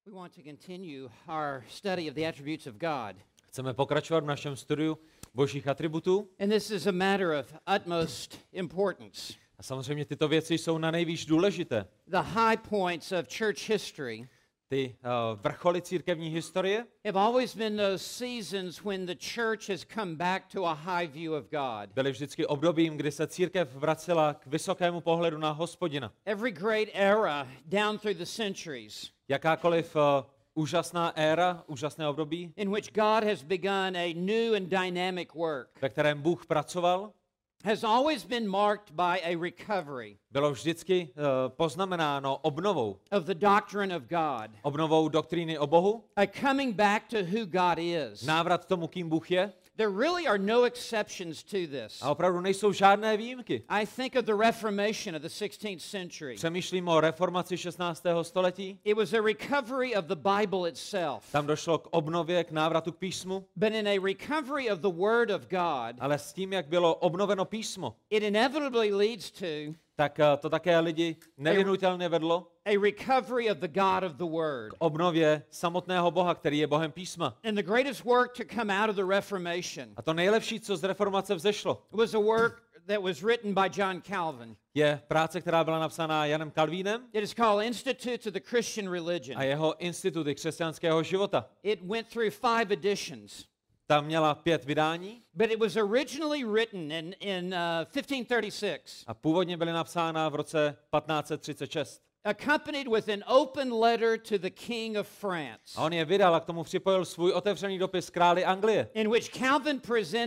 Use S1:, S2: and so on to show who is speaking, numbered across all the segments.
S1: We want to continue our study of the attributes of God.
S2: Chceme pokračovat v našem studiu božích atributů.
S1: And this is a matter of utmost importance.
S2: A samozřejmě tyto věci jsou na nejvíc důležité.
S1: The high points of church history
S2: Ty vrcholy církevní historie
S1: have always been those seasons when the church has come back to a high view of God.
S2: byly vždycky obdobím, kdy se církev vracela k vysokému pohledu na Hospodina.
S1: Every great era down through the centuries
S2: Jakákoliv úžasná éra, úžasné období,
S1: in which God has begun a new and dynamic work
S2: ve kterém Bůh pracoval,
S1: has always been marked by a recovery
S2: bylo vždycky poznamenáno obnovou.
S1: of the doctrine of God,
S2: Obnovou doktríny o Bohu,
S1: a coming back to who God is.
S2: návrat k tomu, kým Bůh je.
S1: There really are no exceptions to this.
S2: A opravdu nejsou žádné výjimky.
S1: I think of the Reformation of the 16th century.
S2: Přemýšlím o reformaci 16. století.
S1: It was a recovery of the Bible itself,
S2: Tam došlo k obnově, k návratu k písmu,
S1: but in a recovery of the Word of God,
S2: ale s tím, jak bylo obnoveno písmo,
S1: it inevitably leads to
S2: tak to také lidi nevyhnutelně vedlo
S1: a recovery of the God of the Word.
S2: k obnově samotného Boha, který je Bohem písma.
S1: And the greatest work to come out of the Reformation
S2: A to nejlepší, co z reformace vzešlo,
S1: was a work that was written by John Calvin.
S2: je práce, která byla napsána Janem Kalvínem
S1: It is called Institutes of the Christian Religion.
S2: a jeho instituty křesťanského života.
S1: It went through 5 editions.
S2: Ta měla 5 vydání
S1: But it was originally written in 1536,
S2: a původně byly napsána v roce 1536.
S1: accompanied with an open letter to the King of France,
S2: A on je vydal a k tomu připojil svůj otevřený dopis králi Anglie,
S1: in which Calvin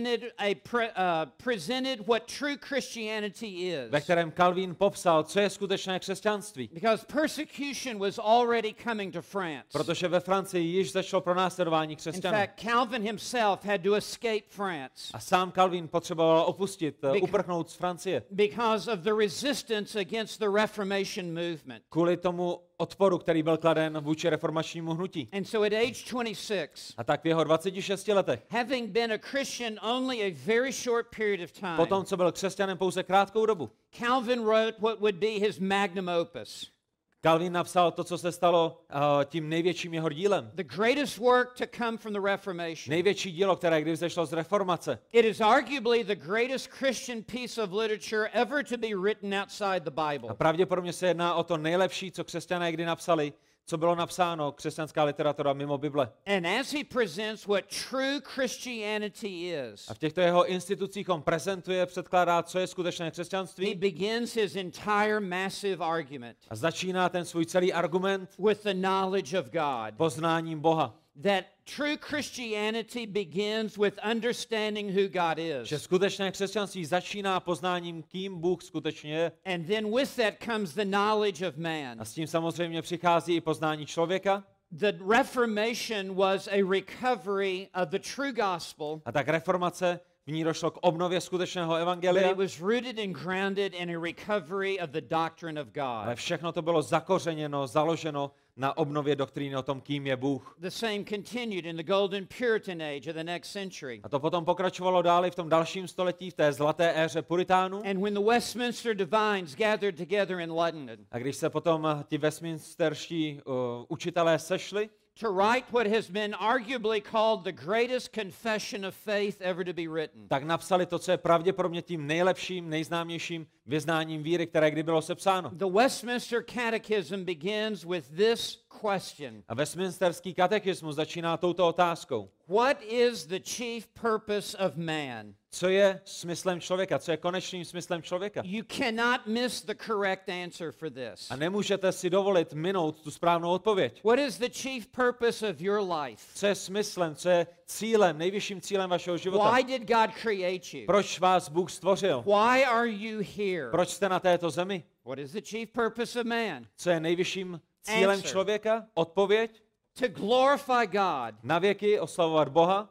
S1: presented what true Christianity
S2: ve
S1: is.
S2: kterém Kalvín popsal, co je skutečné křesťanství.
S1: Because persecution was already coming to France.
S2: Protože ve Francii již začalo pronásledování
S1: In
S2: křesťanů.
S1: fact, Calvin himself had to escape France
S2: A sám Kalvín potřeboval opustit,
S1: Bec-
S2: uprchnout z Francie.
S1: because of the resistance against the Reformation movement.
S2: Kvůli tomu odporu, který byl kladen vůči reformačnímu hnutí.
S1: And so at age 26,
S2: A tak v jeho 26 letech,
S1: having been a Christian only a very short period of time,
S2: potom co byl křesťanem pouze krátkou dobu,
S1: Calvin wrote what would be his magnum opus,
S2: Kalvín napsal to, co se stalo tím největším jeho dílem.
S1: the greatest work to come from the Reformation.
S2: Největší dílo, které kdy vzešlo z reformace.
S1: It is arguably the greatest Christian piece of literature ever to be written outside the Bible.
S2: A pravděpodobně se jedná o to nejlepší, co křesťané kdy napsali, co bylo napsáno, křesťanská literatura mimo Bible.
S1: And as he presents what true Christianity is,
S2: A v těchto jeho institucích on prezentuje, předkládá, co je skutečné
S1: he
S2: křesťanství
S1: begins his entire massive argument
S2: a začíná ten svůj celý argument
S1: with the knowledge of God.
S2: poznáním Boha.
S1: That true Christianity begins with understanding who God
S2: Že
S1: is.
S2: skutečné křesťanství začíná poznáním, kým Bůh skutečně je.
S1: And then with that comes the knowledge of man.
S2: A s tím samozřejmě přichází i poznání člověka.
S1: The Reformation was a recovery of the true gospel,
S2: A tak reformace, v ní došlo k obnově skutečného
S1: but
S2: evangelia,
S1: it was rooted and grounded in a recovery of the doctrine of
S2: ale
S1: God.
S2: všechno to bylo zakořeněno, založeno na obnově doktríny o tom, kým je Bůh.
S1: The same continued in the Golden Puritan age of the next century.
S2: A to potom pokračovalo dále v tom dalším století, v té zlaté éře puritánů.
S1: And when the Westminster divines gathered together in London
S2: A když se potom ti westminsterští učitelé sešli,
S1: to write what has been arguably called the greatest confession of faith ever to be written.
S2: tak napsali to, co je pravděpodobně tím nejlepším, nejznámějším vyznáním víry, které kdy bylo sepsáno.
S1: The Westminster Catechism begins with this question:
S2: A westminsterský katechismus začíná touto otázkou.
S1: what is the chief purpose of man?
S2: Co je smyslem člověka? Co je konečným smyslem člověka?
S1: You cannot miss the correct answer for this.
S2: A nemůžete si dovolit minout tu správnou odpověď.
S1: What is the chief purpose of your life?
S2: Co je smyslem, co je cílem, nejvyšším cílem vašeho života?
S1: Why did God create you?
S2: Proč vás Bůh stvořil?
S1: Why are you here?
S2: Proč jste na této zemi?
S1: What is the chief purpose of man?
S2: Co je nejvyšším cílem
S1: Answer.
S2: člověka? Odpověď?
S1: To glorify God
S2: Na věky oslavovat Boha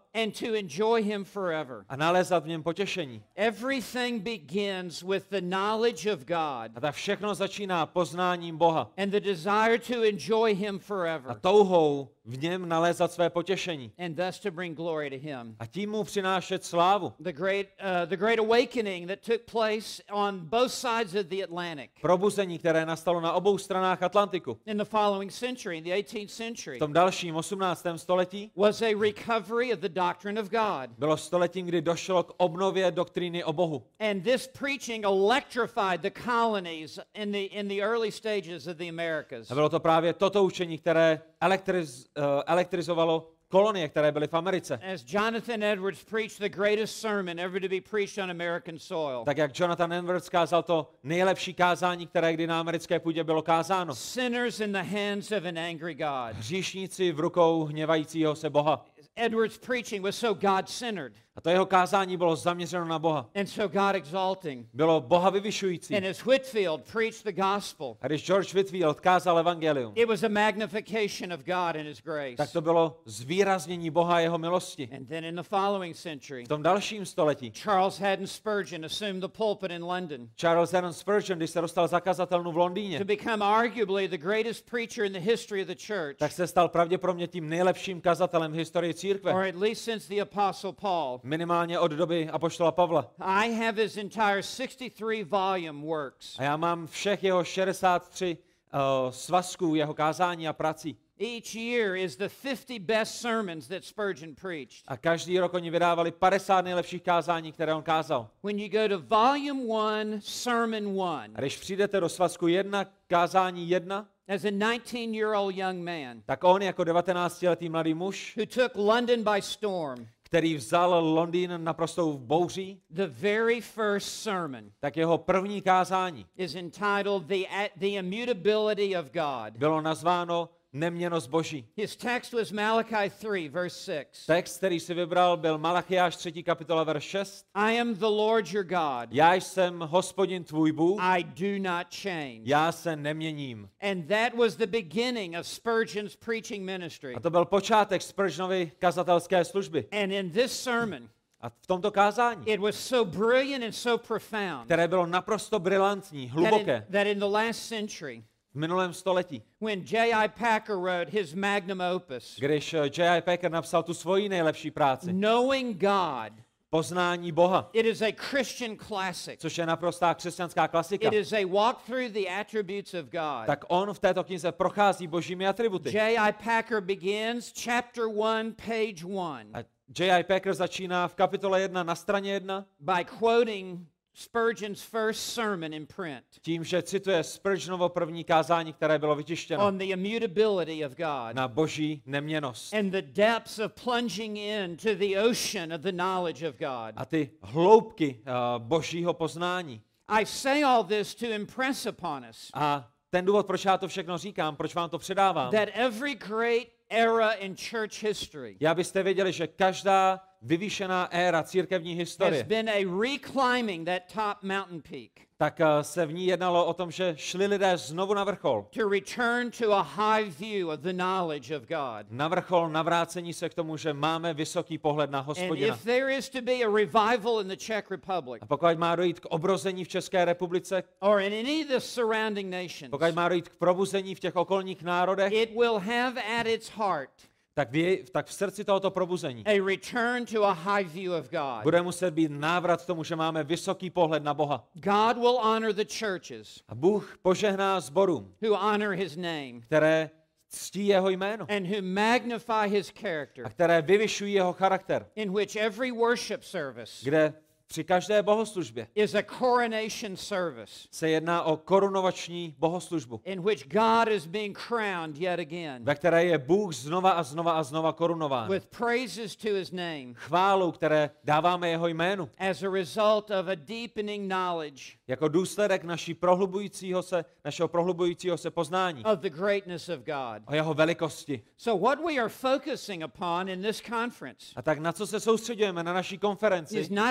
S1: and to enjoy him forever.
S2: a nalézat v něm potěšení.
S1: Everything begins with the knowledge of God
S2: A tak všechno začíná poznáním Boha
S1: and the desire to enjoy him
S2: a
S1: forever
S2: touhou v něm nalézat své potěšení
S1: and thus to bring glory to him.
S2: a tím mu přinášet slávu.
S1: The great awakening that took place on both sides of the Atlantic
S2: Probuzení, které nastalo na obou stranách Atlantiku
S1: in the following century, in the 18th century,
S2: v tom dalším 18. století,
S1: was a recovery of the doctrine of God.
S2: bylo stoletím, kdy došlo k obnově doktríny o Bohu.
S1: And this preaching electrified the colonies in the early stages of the Americas.
S2: A bylo to právě toto učení, které elektrizovalo kolonie, které byly v Americe.
S1: As Jonathan Edwards preached the greatest sermon ever to be preached on American soil.
S2: Tak jak Jonathan Edwards kázal to nejlepší kázání, které kdy na americké půdě bylo kázáno.
S1: Sinners in the hands of an angry God.
S2: Hříšníci v rukou hněvajícího se Boha.
S1: Edwards' preaching was so God-centered
S2: A to jeho kázání bylo zaměřeno na Boha.
S1: and so God-exalting.
S2: Bylo Boha vyvyšující.
S1: And as Whitfield preached the gospel,
S2: A když George Whitfield kázal evangelium,
S1: it was a magnification of God and his grace.
S2: tak to bylo zvýraznění Boha a jeho milosti.
S1: And then in the following century,
S2: V tom dalším století
S1: Charles Haddon Spurgeon assumed the pulpit in London
S2: Charles Haddon Spurgeon, když se dostal za kazatelnu v Londýně,
S1: to become arguably the greatest preacher in the history of the church,
S2: tak se stal pravděpodobně tím nejlepším kazatelem v historii
S1: or
S2: církve.
S1: at least since the Apostle Paul.
S2: Minimálně od doby apoštola Pavla.
S1: I have his entire 63 volume works.
S2: A já mám všech jeho 63 svazků jeho kázání a prací.
S1: Each year is the 50 best sermons that Spurgeon preached.
S2: A každý rok oni vydávali 50 nejlepších kázání, které on kázal.
S1: When you go to volume 1, sermon 1,
S2: A když přijdete do svazku 1, kázání 1,
S1: as a 19-year-old young man
S2: tak on jako 19letý mladý muž,
S1: who took London by storm,
S2: který vzal Londýn naprostou bouří,
S1: the very first sermon
S2: tak jeho první kázání
S1: is entitled The Immutability of God.
S2: bylo nazváno Neměnnost Boží.
S1: His text was Malachi 3, verse 6.
S2: Text, který si vybral, byl Malachiáš 3. kapitola, verš 6.
S1: I am the Lord your God.
S2: Já jsem Hospodin tvůj Bůh,
S1: I do not change.
S2: já se neměním.
S1: And that was the beginning of Spurgeon's preaching ministry.
S2: A to byl počátek Spurgeonovy kazatelské služby.
S1: And in this sermon,
S2: A v tomto kázání,
S1: it was so brilliant and so profound
S2: které bylo naprosto brilantní, hluboké,
S1: that in the last century,
S2: v minulém století,
S1: when J.I. Packer wrote his magnum opus,
S2: když J.I. Packer napsal tu svoji nejlepší práci,
S1: Knowing God,
S2: Poznání Boha,
S1: it is a Christian classic.
S2: což je naprostá křesťanská klasika,
S1: It is a walk through the attributes of God.
S2: tak on v této knize prochází božími atributy.
S1: J.I. Packer begins chapter 1, page 1
S2: A J.I. Packer začíná v kapitole 1 na straně 1
S1: by quoting Spurgeon's first sermon in print
S2: tím, že cituje Spurgeonovo první kázání, které bylo vytištěno
S1: on the immutability of God
S2: na boží neměnnost.
S1: and the depths of plunging into the ocean of the knowledge of God.
S2: A ty hloubky božího poznání.
S1: I say all this to impress upon us
S2: A ten důvod, proč já to všechno říkám, proč vám to předávám,
S1: that every great era in church history
S2: je, abyste věděli, že každá vyvýšená éra církevní
S1: has
S2: historie,
S1: been a reclimbing that top mountain peak
S2: tak se v ní jednalo o tom, že šli lidé znovu na vrchol.
S1: to return to a high view of the knowledge of God.
S2: Na vrchol navrácení se k tomu, že máme vysoký pohled na
S1: And
S2: Hospodina.
S1: if there is to be a revival in the Czech Republic
S2: A pokud má dojít k obrození v České republice,
S1: or in any of the surrounding nations,
S2: pokud má dojít k probuzení v těch okolních národech,
S1: it will have at its heart
S2: tak v srdci tohoto probuzení
S1: a return to a high view of God.
S2: bude muset být návrat k tomu, že máme vysoký pohled na Boha.
S1: God will honor the churches
S2: A Bůh požehná sborům,
S1: who honor his name
S2: které ctí jeho jméno
S1: and who magnify his character,
S2: a které vyvyšují jeho charakter,
S1: in which every worship service
S2: kde při každé bohoslužbě
S1: is a coronation service,
S2: se jedná o korunovační bohoslužbu,
S1: in which God is being crowned yet again
S2: ve které je Bůh znova a znova a znova korunován.
S1: with praises to his name
S2: Chválou, které dáváme jeho jménu,
S1: as a result of a deepening knowledge
S2: jako důsledek našeho prohlubujícího se poznání
S1: of the greatness of God.
S2: o jeho velikosti.
S1: So what we are focusing upon in this conference
S2: A tak na co se soustředujeme na naší konferenci,
S1: is not a matter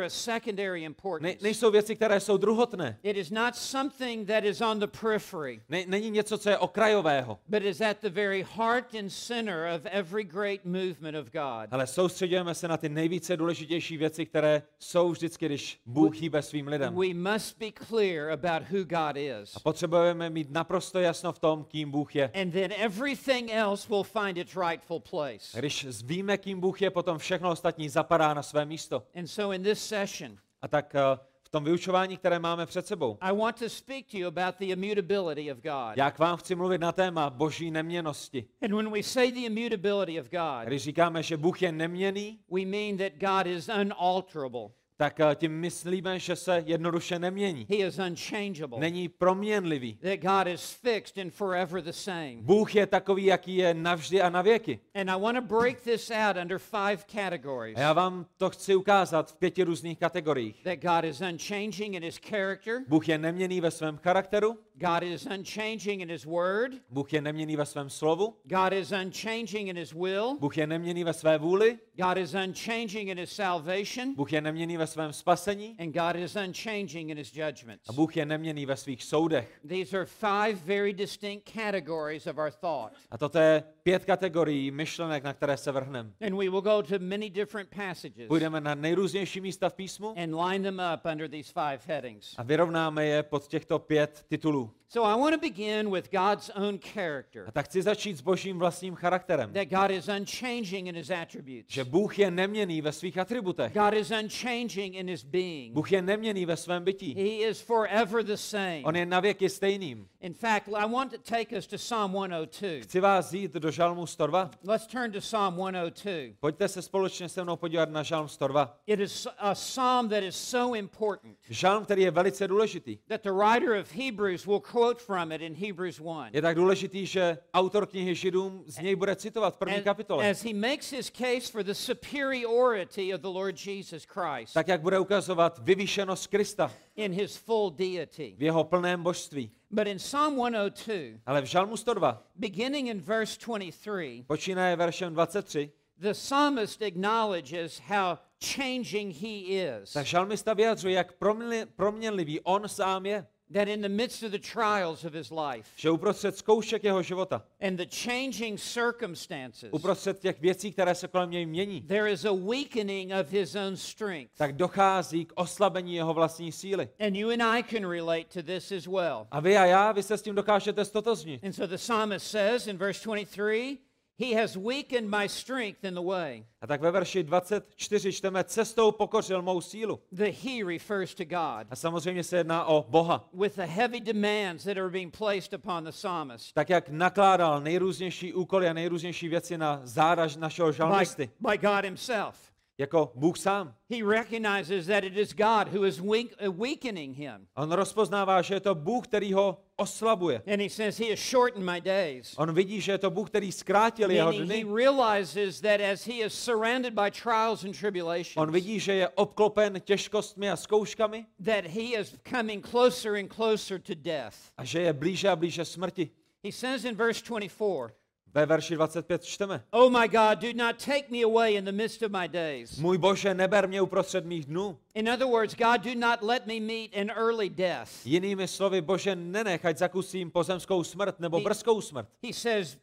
S1: a secondary importance.
S2: Nejsou věci, které jsou druhotné.
S1: It is not something that is on the periphery.
S2: Není něco, co je okrajového.
S1: But is at the very heart and center of every great movement of God.
S2: Ale soustředujeme se na ty nejvíce důležitější věci, které jsou vždycky, když Bůh hýbe svým lidem.
S1: We must be clear about who God is.
S2: A potřebujeme mít naprosto jasno v tom, kým Bůh je.
S1: And then everything else will find its rightful place.
S2: Když víme, kým Bůh je, potom všechno ostatní zapadá na své místo.
S1: And so in this session,
S2: A tak v tom vyučování, které máme před sebou,
S1: I want to speak to you about the immutability of God.
S2: já k vám chci mluvit na téma boží neměnnosti.
S1: And when we say the immutability of God,
S2: Když říkáme, že Bůh je neměnný,
S1: we mean that God is unalterable.
S2: tak tím myslíme, že se jednoduše nemění.
S1: He is unchangeable.
S2: Není proměnlivý.
S1: That God is fixed and forever the same.
S2: Bůh je takový, jaký je navždy a na věky.
S1: And I want to break this out under 5 categories.
S2: A já vám to chci ukázat v 5 různých kategoriích.
S1: That God is unchanging in his character.
S2: Bůh je neměnný ve svém charakteru.
S1: God is unchanging in his word.
S2: Bůh je neměnný ve svém slovu.
S1: God is unchanging in his will.
S2: Bůh je neměnný ve své vůli.
S1: God is unchanging in his salvation.
S2: Bůh je neměnný ve svém spasení.
S1: And God is unchanging in his judgments.
S2: A Bůh je neměnný ve svých soudech.
S1: These are 5 very distinct categories of our thought.
S2: A toto je 5 kategorií myšlenek, na které se vrhneme.
S1: And we will go to many different passages
S2: Půjdeme na nejrůznější místa v písmu
S1: and line them up under these 5 headings.
S2: a vyrovnáme je pod těchto 5 titulů.
S1: So I want to begin with God's own character.
S2: A tak chci začít s božím vlastním charakterem.
S1: That God is unchanging in his attributes.
S2: Že Bůh je neměnný ve svých atributech.
S1: God is unchanging in his being.
S2: Bůh je neměnný ve svém bytí.
S1: He is forever the same.
S2: On je navěky stejným.
S1: In fact, I want to take us to Psalm 102.
S2: Chci vás jít do Žalmu 102.
S1: Let's turn to Psalm 102.
S2: Pojďte se společně se mnou podívat na Žalm 102.
S1: It is a psalm that is so important
S2: Žalm, který je velice důležitý.
S1: that the writer of Hebrews will quote from it in Hebrews 1.
S2: Je tak důležitý, že autor knihy Židům z něj bude citovat v první kapitole.
S1: As he makes his case for the superiority of the Lord Jesus Christ
S2: Tak, jak bude ukazovat vyvýšenost Krista
S1: in his full deity.
S2: v jeho plném božství.
S1: But in Psalm 102,
S2: Ale v Žalmu 102,
S1: beginning in verse 23,
S2: počínaje veršem 23,
S1: the psalmist acknowledges how changing he is.
S2: tak žalmista vyjadřuje, jak proměnlivý on sám je.
S1: That in the midst of the trials of his life
S2: Že uprostřed zkoušek jeho života,
S1: and the changing circumstances,
S2: uprostřed těch věcí, které se kolem něj mění,
S1: there is a weakening of his own strength.
S2: tak dochází k oslabení jeho vlastní síly.
S1: And you and I can relate to this as well.
S2: A vy a já, vy se s tím dokážete stotožnit.
S1: And so the psalmist says in verse 23, he has weakened my strength in the way.
S2: A tak ve verši 24 čteme, cestou pokořil mou sílu.
S1: The he refers to God.
S2: A samozřejmě se jedná o Boha.
S1: With the heavy demands that are being placed upon the psalmist
S2: Tak jak nakládal nejrůznější úkoly a nejrůznější věci na záda našeho žalmisty,
S1: by God himself.
S2: jako Bůh sám.
S1: He recognizes that it is God who is weakening him.
S2: On rozpoznává, že je to Bůh, který ho oslabuje.
S1: And he says, he has shortened my days.
S2: On vidí, že je to Bůh, který zkrátil jeho
S1: Meaning he
S2: dny.
S1: realizes that as he is surrounded by trials and tribulations,
S2: On vidí, že je obklopen těžkostmi a zkouškami
S1: that he is coming closer and closer to death.
S2: a že je blíže a blíže smrti.
S1: He says in verse 24,
S2: Ve verši 25 čteme.
S1: oh my God, do not take me away in the midst of my days.
S2: Můj Bože, neber mě uprostřed mých dnů.
S1: In other words, God, do not let me meet an early death.
S2: Jinými slovy, Bože, nenech, ať zakusím pozemskou smrt nebo brzkou smrt.
S1: He says,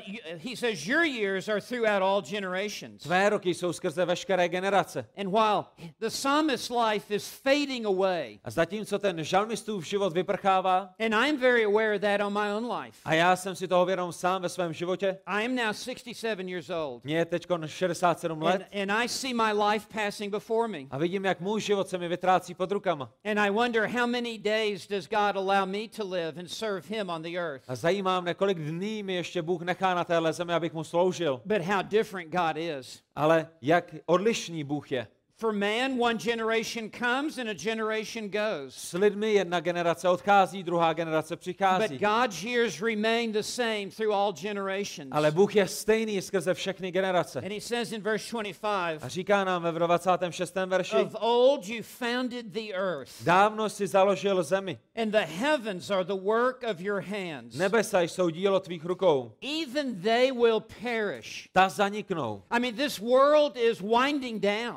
S1: he says, your years are throughout all generations.
S2: Tvé roky jsou skrze veškeré generace.
S1: And while the psalmist's life is fading away,
S2: A zatímco ten žalmistův život vyprchává,
S1: and I'm very aware of that on my own life.
S2: a já jsem si toho vědom sám ve svém životě,
S1: I am now 67 years old.
S2: mě je teď 67 let
S1: And I see my life passing before me.
S2: a vidím, jak můj život se mi vytrácí pod rukama.
S1: And I wonder how many days does God allow me to live and serve him on the earth.
S2: A zajímá mě, kolik dní mi ještě Bůh nechá na téhle zemi, abych mu sloužil.
S1: But how different God is.
S2: Ale jak odlišný Bůh je.
S1: For man, one generation comes and a generation goes.
S2: S lidmi jedna generace odchází, druhá generace
S1: But
S2: přichází.
S1: God's years remain the same through all generations.
S2: Ale Bůh je stejný skrze všechny generace.
S1: And he says in verse 25,
S2: A říká nám ve 26. verši,
S1: of old you founded the earth,
S2: dávno si založil zemi.
S1: and the heavens are the work of your hands.
S2: Nebesa jsou dílo tvých rukou.
S1: Even they will perish.
S2: Ta zaniknou.
S1: I mean, this world is winding down.
S2: Celý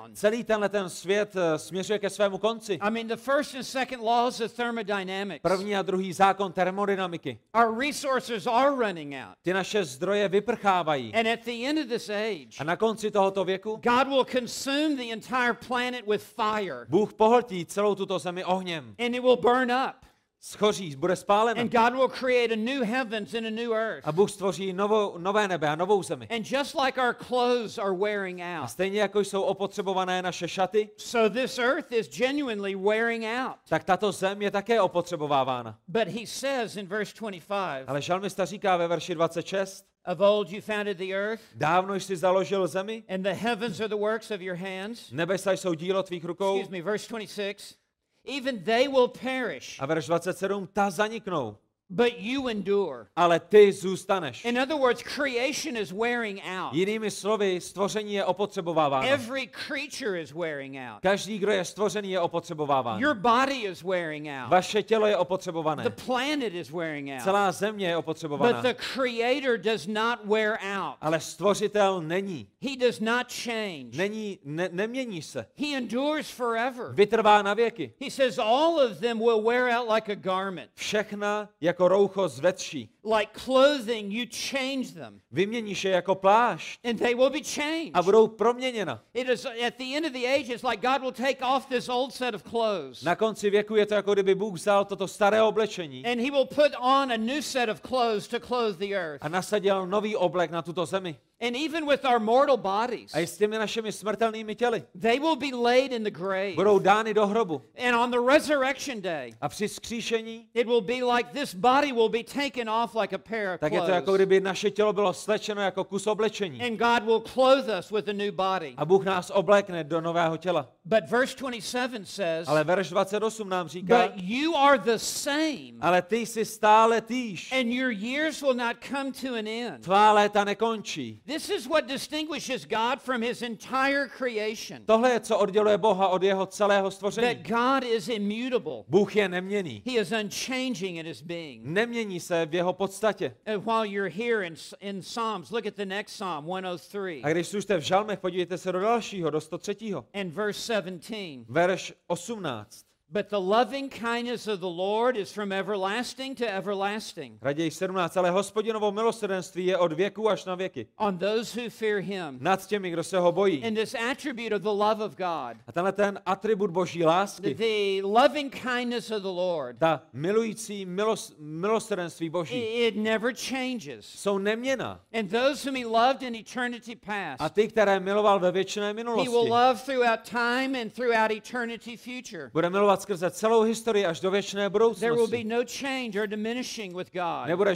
S2: tenhle ten svět směřuje ke svému konci.
S1: I mean, the first and second laws of thermodynamics.
S2: První a druhý zákon termodynamiky.
S1: Our resources are running out.
S2: Ty naše zdroje vyprchávají.
S1: And at the end of this age,
S2: A na konci tohoto věku
S1: God will consume the entire planet with fire.
S2: Bůh pohltí celou tuto zemi ohněm.
S1: And it will burn up.
S2: Schoří, bude spálena.
S1: And God will create a new heavens and a new earth.
S2: A Bůh stvoří nové nebe a novou zemi.
S1: And just like our clothes are wearing
S2: A
S1: out,
S2: stejně jako jsou opotřebované naše šaty,
S1: so this earth is genuinely wearing out.
S2: tak tato zem je také opotřebovávána.
S1: But he says in verse 25,
S2: Ale žalmista říká ve verši 26,
S1: of old you founded the earth,
S2: dávno jsi založil zemi,
S1: and the heavens are the works of your hands.
S2: nebesa jsou dílo tvých rukou.
S1: Excuse me, verse 26. Even they will perish,
S2: A verš 27, ta zaniknou,
S1: but you endure.
S2: ale ty zůstaneš.
S1: In other words, creation is wearing out.
S2: Jinými slovy, stvoření je opotřebováváno.
S1: Every creature is wearing out.
S2: Každý, kdo je stvořený, je opotřebováván.
S1: Your body is wearing out.
S2: Vaše tělo je opotřebované.
S1: The planet is wearing out.
S2: Celá země je
S1: But
S2: opotřebovaná.
S1: the Creator does not wear out.
S2: Ale stvořitel není.
S1: He does not change.
S2: Nemění se.
S1: He endures forever.
S2: Vytrvá na věky.
S1: He says all of them will wear out like a garment.
S2: Všechna jako roucho zvetší.
S1: Like clothing, you change them.
S2: Vyměníš je jako plášť
S1: And they will be changed.
S2: a budou proměněna.
S1: It is at the end of the age, it's like God will take off this old set of clothes.
S2: Na konci věku je to, jako kdyby Bůh vzal toto staré oblečení
S1: And he will put on a new set of clothes to clothe the earth.
S2: a nasadil nový oblek na tuto zemi.
S1: And even with our mortal bodies,
S2: A i s těmi našimi smrtelnými těly
S1: they will be laid in the grave.
S2: budou dány do hrobu.
S1: And on the resurrection day,
S2: A při vzkříšení,
S1: it will be like this body will be taken off like a pair of
S2: tak je to, jako
S1: clothes.
S2: kdyby naše tělo bylo slečeno jako kus oblečení.
S1: And God will clothe us with a new body.
S2: A Bůh nás oblékne do nového těla.
S1: But verse 27 says,
S2: Ale verš 28 nám říká,
S1: but you are the same,
S2: ale ty jsi stále týž.
S1: and your years will not come to an end.
S2: Tvá léta nekončí.
S1: This is what distinguishes God from his entire creation.
S2: Tohle je, co odděluje Boha od jeho celého
S1: That
S2: stvoření.
S1: God is immutable.
S2: Bůh je neměnný.
S1: He is unchanging in his being.
S2: Nemění se v jeho podstatě.
S1: And while you're here in Psalms, look at the next Psalm, 103
S2: A když jste v žalmech, podívejte se do dalšího, do 103.
S1: and verse 17.
S2: Verš 18.
S1: But the loving kindness of the Lord is from everlasting to everlasting
S2: Raději 17. Ale Hospodinovo milosrdenství je od věku až na věky.
S1: on those who fear him.
S2: Nad těmi, kdo se ho bojí.
S1: And this attribute of the love of God,
S2: A tenhle ten atribut boží lásky,
S1: the loving kindness of the Lord,
S2: ta milující milosrdenství boží,
S1: it never changes.
S2: jsou neměnná.
S1: And those whom he loved in eternity
S2: A
S1: past,
S2: ty, které miloval ve věčné
S1: he will
S2: minulosti,
S1: love throughout time and throughout eternity future.
S2: bude milovat skrze celou historii až do věčné
S1: There will be
S2: budoucnosti.
S1: no change or diminishing with God.
S2: Nebude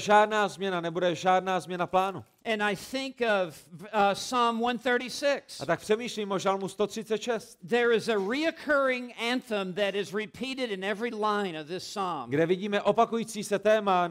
S2: žádná změna plánu.
S1: And I think of Psalm 136.
S2: A tak přemýšlím o žalmu 136,
S1: There is a reoccurring anthem that is repeated in every line of this psalm.
S2: kde vidíme opakující se téma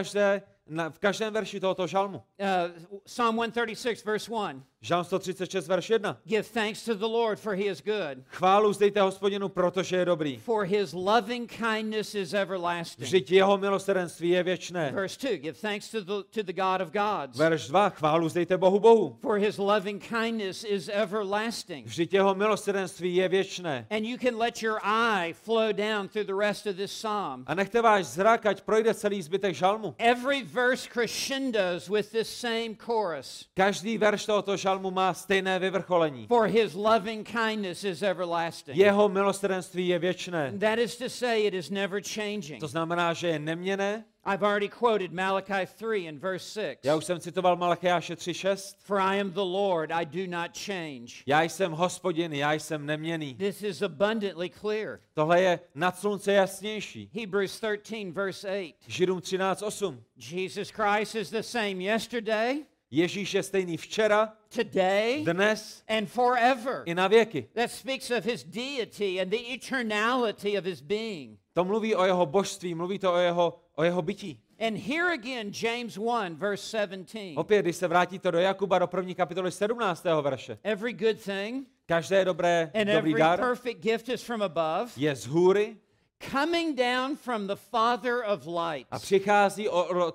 S2: v každém verši tohoto žalmu.
S1: Psalm 136, verse 1.
S2: Žalm 136, verš 1.
S1: Give thanks to the Lord, for he is good,
S2: Chválu vzdejte Hospodinu, protože je dobrý.
S1: for his loving kindness is everlasting.
S2: Vždyť jeho milosrdenství je věčné.
S1: Verse 2. Give thanks to the God of gods,
S2: Verš 2. Chválu vzdejte Bohu.
S1: for his loving kindness is everlasting.
S2: Vždyť jeho milosrdenství je věčné.
S1: And you can let your eye flow down through the rest of this psalm.
S2: A nechte váš zrak, ať projde celý zbytek žalmu.
S1: Every verse crescendos with this same chorus.
S2: Každý verš tohoto žalmu má stejné vyvrcholení.
S1: For his loving kindness is everlasting.
S2: Jeho milosrdenství je věčné.
S1: That is to say, it is never changing.
S2: To znamená, že je neměnné.
S1: I've already quoted Malachi 3 in verse 6.
S2: Já už jsem citoval Malachiáše 3:6.
S1: For I am the Lord, I do not change.
S2: Já jsem Hospodin, já jsem neměnný.
S1: This is abundantly clear.
S2: Tohle je nad slunce jasnější.
S1: Hebrews 13 verse 8.
S2: Židům 13:8.
S1: Jesus Christ is the same yesterday,
S2: Ježíš je stejný včera,
S1: today,
S2: dnes
S1: and forever.
S2: i na věky.
S1: That speaks of his deity and the eternality of his being.
S2: To mluví o jeho božství, mluví to o jeho bytí.
S1: And here again, James 1 verse 17.
S2: Opět, když se vrátíte do Jakuba, do 1. kapitoly 17. verše.
S1: Every good thing
S2: Každé dobrý
S1: and every
S2: dar
S1: perfect gift is from above,
S2: je z hůry,
S1: coming down from the Father of lights.
S2: A přichází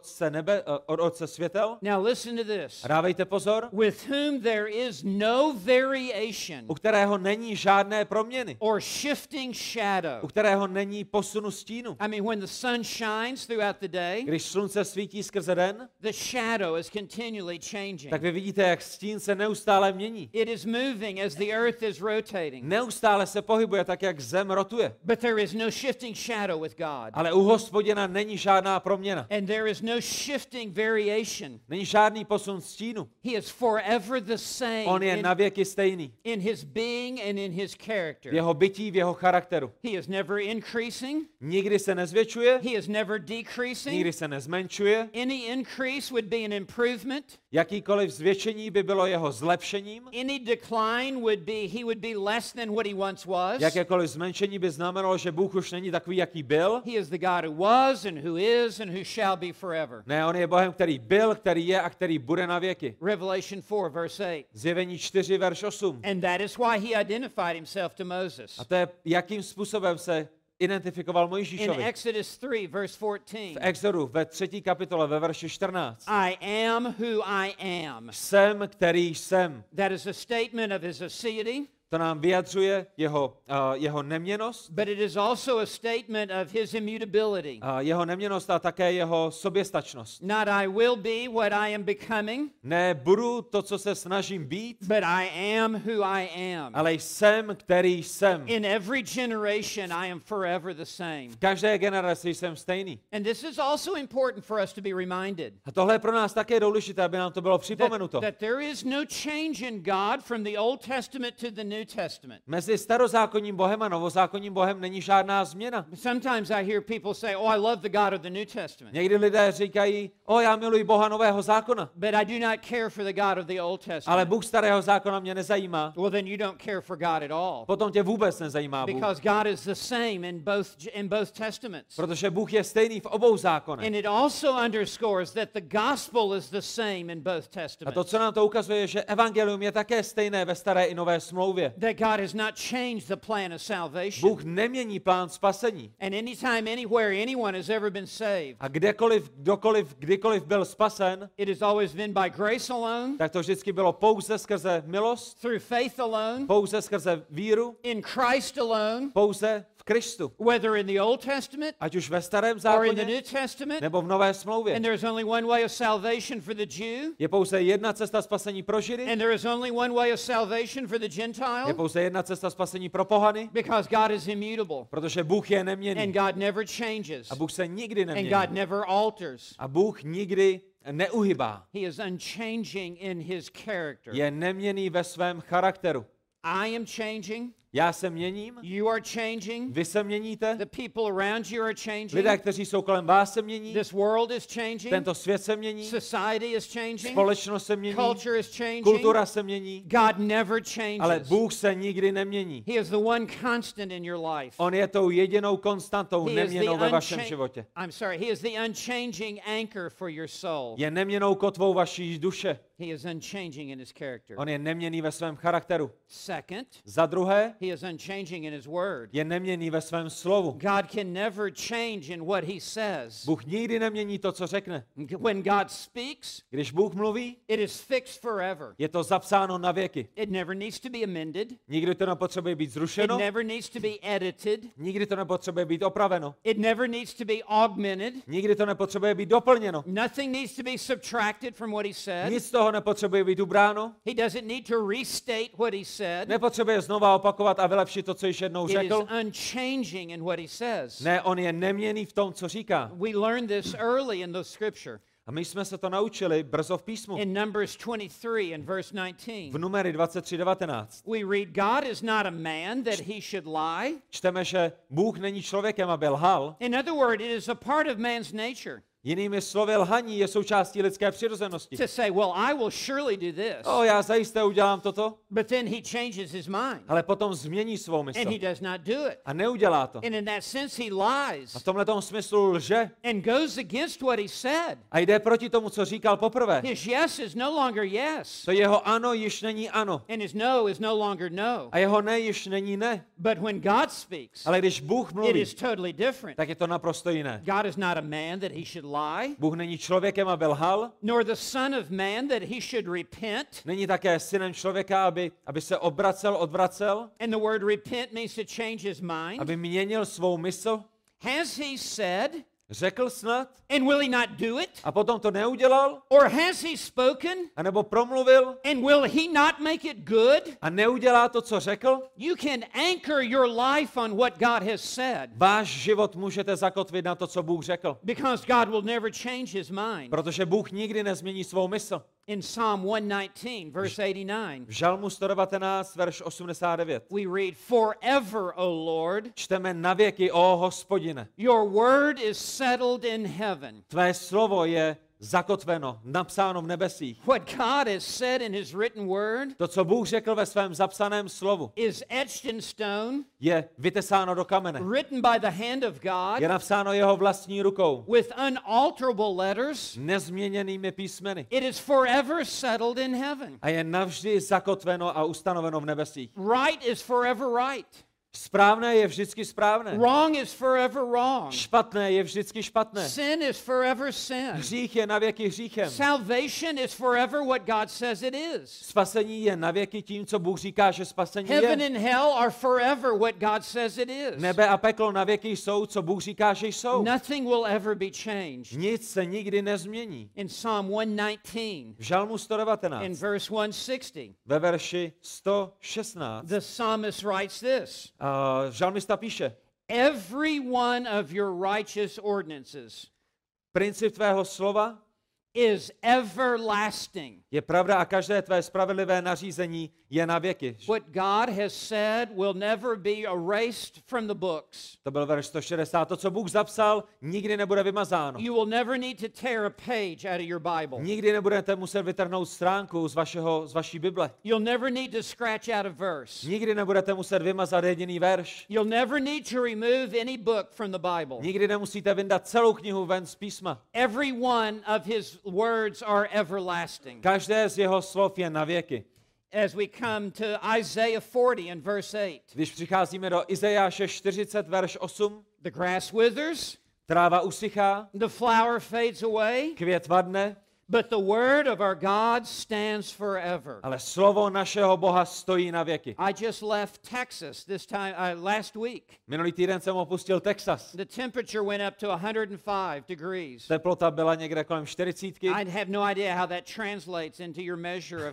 S2: od Otce světel.
S1: Now listen to this.
S2: A dávejte pozor.
S1: With whom there is no variation
S2: U kterého není žádné proměny.
S1: or shifting shadow.
S2: U kterého není posunu stínu.
S1: I mean, when the sun shines throughout the day,
S2: Když slunce svítí skrze den,
S1: the shadow is continually changing.
S2: tak vy vidíte, jak stín se neustále mění.
S1: It is moving as the earth is rotating.
S2: Neustále se pohybuje tak, jak zem rotuje.
S1: But there is no shifting shadow with God.
S2: Ale u Hospodina není žádná proměna.
S1: And there is no shifting variation.
S2: Není žádný posun stínu.
S1: He is forever the same
S2: On je navěky stejný.
S1: in his being and in his
S2: V
S1: character.
S2: jeho bytí, v jeho charakteru.
S1: He is never increasing.
S2: Nikdy se nezvětšuje,
S1: He is never decreasing.
S2: nikdy se nezmenšuje.
S1: Any increase would be an improvement.
S2: Jakýkoliv zvětšení by bylo jeho zlepšením.
S1: Any decline would be he would be less than what he once was.
S2: Jakékoliv zmenšení by znamenalo, že Bůh už není takový, jaký byl.
S1: He is the God who was and who is and who shall be forever.
S2: Ne, on je Bohem, který byl, který je a který bude na věky.
S1: Revelation 4 verse 8.
S2: Zjevení 4, verš 8.
S1: And that is why he identified himself to Moses.
S2: A to je, jakým způsobem se identifikoval
S1: In
S2: Mojžíšovi.
S1: Exodus 3 verse 14.
S2: V Exodu ve 3. kapitole ve verši 14.
S1: I am who I am.
S2: Jsem, který jsem.
S1: That is a statement of his aseity.
S2: To nám vyjadřuje jeho neměnnost.
S1: But it is also a statement of his immutability.
S2: Jeho neměnost a také jeho soběstačnost.
S1: Not I will be what I am becoming,
S2: Ne budu to, co se snažím být,
S1: but I am who I am.
S2: ale jsem, který jsem.
S1: In every generation I am forever the same.
S2: V každé generaci jsem stejný.
S1: And this is also important for us to be reminded.
S2: A tohle je pro nás také důležité, aby nám to bylo připomenuto.
S1: That there is no change in God from the Old Testament to the New Testament.
S2: Mezi starozákonním Bohem a novozákonním Bohem není žádná změna.
S1: Sometimes I hear people say, "Oh, I love the God of the New Testament."
S2: Někdy lidé říkají, já miluji Boha nového zákona,
S1: But I do not care for the God of the Old
S2: ale
S1: Testament.
S2: Bůh starého zákona mě nezajímá.
S1: Well, then you don't care for God at all.
S2: Potom tě vůbec nezajímá Bůh,
S1: Because God is the same in both testaments.
S2: protože Bůh je stejný v obou zákonech.
S1: And it also underscores that the gospel is the same in both
S2: A to,
S1: testaments.
S2: co nám to ukazuje, je, že evangelium je také stejné ve staré i nové smlouvě.
S1: That God has not changed the plan of salvation.
S2: Bůh nemění plán spasení.
S1: And anytime, anywhere, anyone has ever been saved,
S2: A kdykoliv byl spasen,
S1: it has always been by grace alone,
S2: tak to vždycky bylo pouze skrze milost,
S1: through faith alone,
S2: pouze skrze víru,
S1: in Christ alone,
S2: pouze v Kristu.
S1: whether in the Old Testament
S2: Ať už ve starém
S1: or in the
S2: zákoně,
S1: New Testament.
S2: nebo v nové smlouvě.
S1: And there is only one way of salvation for the Jew,
S2: Je pouze jedna cesta spasení pro Židy,
S1: and there is only one way of salvation for the
S2: je
S1: Gentile,
S2: pouze jedna cesta spasení pro pohany,
S1: because God is immutable,
S2: protože Bůh je
S1: and
S2: neměnný.
S1: God never changes,
S2: A Bůh se nikdy
S1: and
S2: nemění.
S1: God never alters.
S2: A Bůh nikdy neuhybá.
S1: He is unchanging in his character.
S2: Je neměnný ve svém charakteru.
S1: I am changing.
S2: Já se měním,
S1: You are changing.
S2: vy se měníte,
S1: The people around you are changing.
S2: lidé, kteří jsou kolem vás, se mění,
S1: This world is changing.
S2: tento svět se mění,
S1: Society is changing.
S2: společnost se mění,
S1: Culture is changing.
S2: kultura se mění,
S1: God never
S2: ale
S1: changes.
S2: Bůh se nikdy nemění.
S1: He is the one constant in your life.
S2: On je tou jedinou konstantou,
S1: He is
S2: neměnou ve vašem životě.
S1: He is the unchanging anchor for your soul.
S2: Je neměnou kotvou vaší duše.
S1: He is unchanging in his character.
S2: On je neměný ve svém charakteru.
S1: Second,
S2: Za druhé,
S1: he is unchanging in his word.
S2: je neměný ve svém slovu.
S1: God can never change in what he says.
S2: Bůh nikdy nemění to, co řekne.
S1: When God speaks,
S2: Když Bůh mluví,
S1: it is fixed forever.
S2: je to zapsáno na věky.
S1: It never needs to be amended.
S2: Nikdy to nepotřebuje být
S1: It
S2: zrušeno,
S1: never needs to be edited.
S2: nikdy to nepotřebuje být opraveno,
S1: It never needs to be augmented.
S2: nikdy to nepotřebuje být doplněno.
S1: Nothing needs to be subtracted from what he said.
S2: Nic z toho nepotřebuje být ubráno,
S1: He doesn't need to restate what he said.
S2: nepotřebuje znova opakovat a vylepšit to, co již jednou
S1: It is
S2: řekl.
S1: unchanging in what he says.
S2: Ne, on je neměnný v tom, co říká.
S1: We learned this early in the scripture.
S2: A my jsme se to naučili brzo v písmu.
S1: In Numbers 23 and verse 19.
S2: V Numery 23:19
S1: We read, God is not a man that he should lie.
S2: čteme, že Bůh není člověkem, aby lhal.
S1: In other words, it is a part of man's nature.
S2: Jinými slovy, lhaní je součástí lidské přirozenosti.
S1: To say, well, I will surely do this.
S2: Já zajisté udělám toto,
S1: But then he changes his mind.
S2: ale potom změní svou mysl.
S1: And he does not do it.
S2: A neudělá to.
S1: And in that sense, he lies.
S2: A v tomhletom smyslu lže
S1: And goes against what he said.
S2: a jde proti tomu, co říkal poprvé.
S1: His yes is no longer yes.
S2: To jeho ano již není ano.
S1: And his no is no longer no.
S2: A jeho ne již není ne.
S1: But when God speaks,
S2: Ale když Bůh
S1: it
S2: mluví,
S1: is totally different.
S2: tak je to naprosto jiné.
S1: God is not a man that he should lie,
S2: Bůh není člověkem, aby lhal,
S1: nor the son of man that he should repent.
S2: není také synem člověka, aby se odvracel,
S1: And the word repent means to change his mind.
S2: aby měnil svou mysl.
S1: Has he said,
S2: Řekl snad
S1: and will he not do it?
S2: a potom to neudělal,
S1: Or has he spoken,
S2: anebo promluvil
S1: and will he not make it good?
S2: a neudělá to, co řekl.
S1: You can anchor your life on what God has said,
S2: Váš život můžete zakotvit na to, co Bůh řekl,
S1: because God will never change his mind.
S2: protože Bůh nikdy nezmění svou mysl.
S1: In Psalm 119, verse 89,
S2: V Žalmu 119, verš 89.
S1: we read, forever, O Lord,
S2: Čteme navěky, ó Hospodine.
S1: your word is settled in heaven.
S2: Tvé slovo je zakotveno, napsáno v nebesích.
S1: What God has said in his written word
S2: To, co Bůh řekl ve svém zapsaném slovu,
S1: is etched in stone,
S2: je vytesáno do kamene.
S1: written by the hand of God,
S2: Je napsáno jeho vlastní rukou,
S1: with unalterable letters.
S2: nezměněnými písmeny.
S1: It is forever settled in heaven.
S2: A je navždy zakotveno a ustanoveno v nebesích.
S1: Right is forever right.
S2: Správné je vždycky správné.
S1: Wrong is forever wrong.
S2: Špatné je vždycky špatné.
S1: Sin is forever sin.
S2: Hřích je navěky hříchem.
S1: Salvation is forever what God says it is.
S2: Spasení je navěky tím, co Bůh říká, že spasení
S1: Heaven
S2: je.
S1: and hell are forever what God says it is.
S2: Nebe a peklo navěky jsou, co Bůh říká, že jsou.
S1: Nothing will ever be changed.
S2: Nic se nikdy nezmění.
S1: In Psalm 119,
S2: V Žalmu
S1: in
S2: 119,
S1: verse 160,
S2: ve verši 116,
S1: the psalmist writes this:
S2: žalmista píše,
S1: every one of your righteous ordinances
S2: princip tvého slova
S1: is everlasting.
S2: je pravda a každé tvé spravedlivé nařízení je na věky.
S1: What God has said will never be erased from the books.
S2: To byl verš 160. To, co Bůh zapsal, nikdy nebude vymazáno.
S1: You will never need to tear a page out of your Bible.
S2: Nikdy nebudete muset vytrhnout stránku z vaší Bible.
S1: You'll never need to scratch out a verse.
S2: Nikdy nebudete muset vymazat jediný verš.
S1: You'll never need to remove any book from the Bible.
S2: Nikdy nemusíte vyndat celou knihu ven z písma.
S1: Every one of his words are everlasting.
S2: Každé z jeho slov je na věky.
S1: As we come to Isaiah 40 and verse 8,
S2: Když přicházíme do Izajáše 40, verš 8,
S1: the grass withers,
S2: tráva usychá,
S1: the flower fades away,
S2: květ vadne,
S1: but the word of our God stands forever.
S2: ale slovo našeho Boha stojí na věky.
S1: I just left Texas last week.
S2: Minulý týden jsem opustil Texas.
S1: The temperature went up to 105 degrees.
S2: Teplota byla někde kolem 40.
S1: I have no idea how that translates into your measure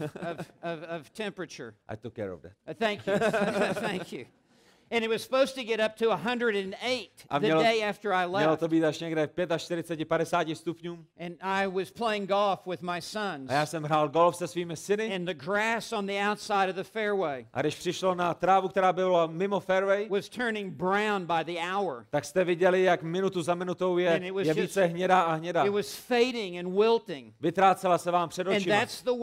S1: of temperature.
S2: I took care of that.
S1: Thank you. Thank you. And it was supposed to get up to 108
S2: A
S1: the day after I
S2: mělo
S1: left.
S2: to být až někde 45-50 stupňům.
S1: And I was playing golf with my sons.
S2: A já jsem hrál golf se svými syny.
S1: And the grass on the outside of the fairway
S2: A když přišlo na trávu, která byla mimo fairway,
S1: was turning brown by the hour.
S2: tak jste viděli, jak minutu za minutou
S1: And it was
S2: je více hnědá a hnědá.
S1: It was fading and wilting.
S2: Vytrácela se vám před
S1: And
S2: očima.
S1: that's the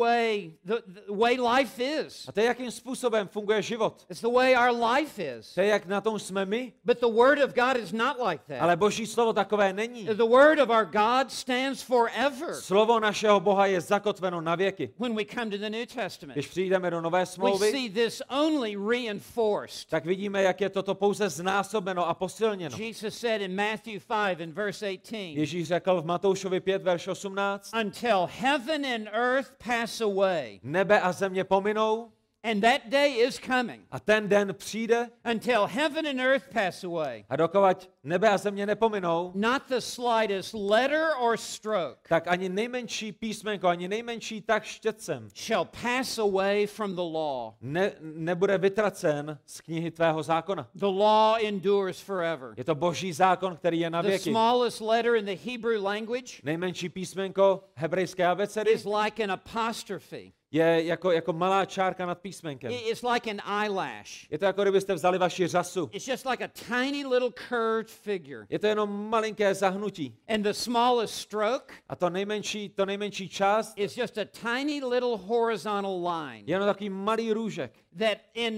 S1: way life is.
S2: A to je, jakým způsobem funguje život.
S1: It's the way our life is.
S2: To je, jak na tom jsme my.
S1: But the word of God is not like that.
S2: Ale Boží slovo takové není.
S1: The word of our God stands forever.
S2: Slovo našeho Boha je zakotveno na věky.
S1: When we come to the New Testament,
S2: Když přijdeme do Nové
S1: we
S2: smlouvy,
S1: see this only reinforced.
S2: tak vidíme, jak je toto pouze znásobeno a posilněno.
S1: Jesus said in Matthew 5 and verse 18,
S2: Ježíš řekl v Matoušovi 5, verš 18,
S1: until heaven and earth pass away,
S2: nebe a země pominou
S1: and that day is coming,
S2: a ten den přijde
S1: until heaven and earth pass away,
S2: a dokud nebe a země nepominou,
S1: not the slightest letter or stroke
S2: tak ani nejmenší písmenko, ani nejmenší tak štětcem
S1: shall pass away from the law.
S2: nebude vytracen z knihy tvého zákona.
S1: The law endures forever.
S2: Je to Boží zákon, který je na
S1: The
S2: věky.
S1: smallest letter in the Hebrew language
S2: Nejmenší písmenko hebrejské abecedy
S1: is like an apostrophe.
S2: je jako malá čárka nad písmenkem.
S1: It's like an eyelash.
S2: Je to jako kdybyste vzali vaši řasu.
S1: It's just like a tiny little curved figure.
S2: Je to jenom malinké zahnutí.
S1: And the smallest stroke
S2: A to nejmenší část
S1: is just a tiny little horizontal line
S2: je jenom takový malý růžek,
S1: that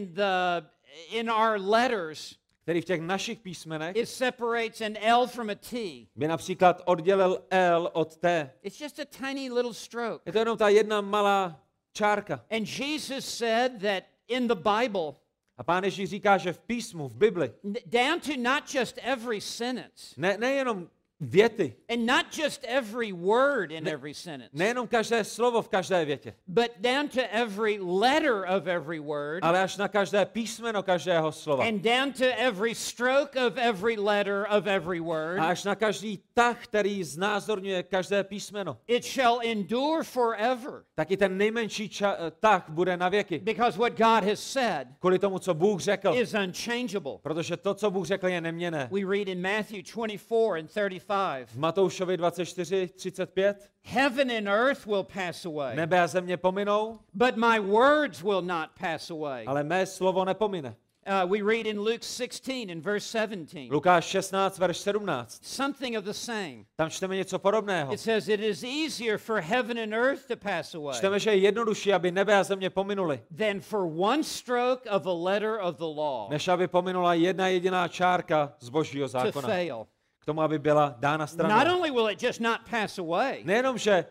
S1: in our letters
S2: který v těch našich písmenech
S1: it separates an L from a T.
S2: by například oddělil L od T.
S1: It's just a tiny little stroke.
S2: Je to jenom ta jedna malá čárka.
S1: And Jesus said that in the Bible,
S2: A Pán Ježíš říká, že v písmu, v Bibli,
S1: down to not just every sentence,
S2: nejenom věty,
S1: and not just every word in every sentence,
S2: nejenom každé slovo v každé větě,
S1: but down to every letter of every word,
S2: ale až na každé písmeno každého slova.
S1: and down to every stroke of every letter of every word,
S2: A až na každý tah, který znázorňuje každé písmeno.
S1: it shall endure forever.
S2: Taky ten nejmenší tah bude na věky.
S1: Because what God has said
S2: Kvůli tomu, co Bůh řekl.
S1: is unchangeable.
S2: Protože to, co Bůh řekl, je neměnné.
S1: We read in Matthew 24 and 35.
S2: V Matoušovi 24:35
S1: Heaven and earth will pass away,
S2: nebe a země pominou,
S1: but my words will not pass away.
S2: ale mé slovo nepomine.
S1: We read in Luke 16 and verse 17.
S2: Lukáš 16, verš 17.
S1: Something of the same.
S2: Tam čteme něco podobného.
S1: It says it is easier for heaven and earth to pass away
S2: Čteme, že je jednodušší, aby nebe a země pominuly,
S1: than for one stroke of a letter of the law
S2: než aby pominula jedna jediná čárka z Božího
S1: to
S2: zákona.
S1: fail.
S2: K tomu, aby byla dána
S1: Not
S2: stranou.
S1: only will it just not pass away,
S2: Nejenom, že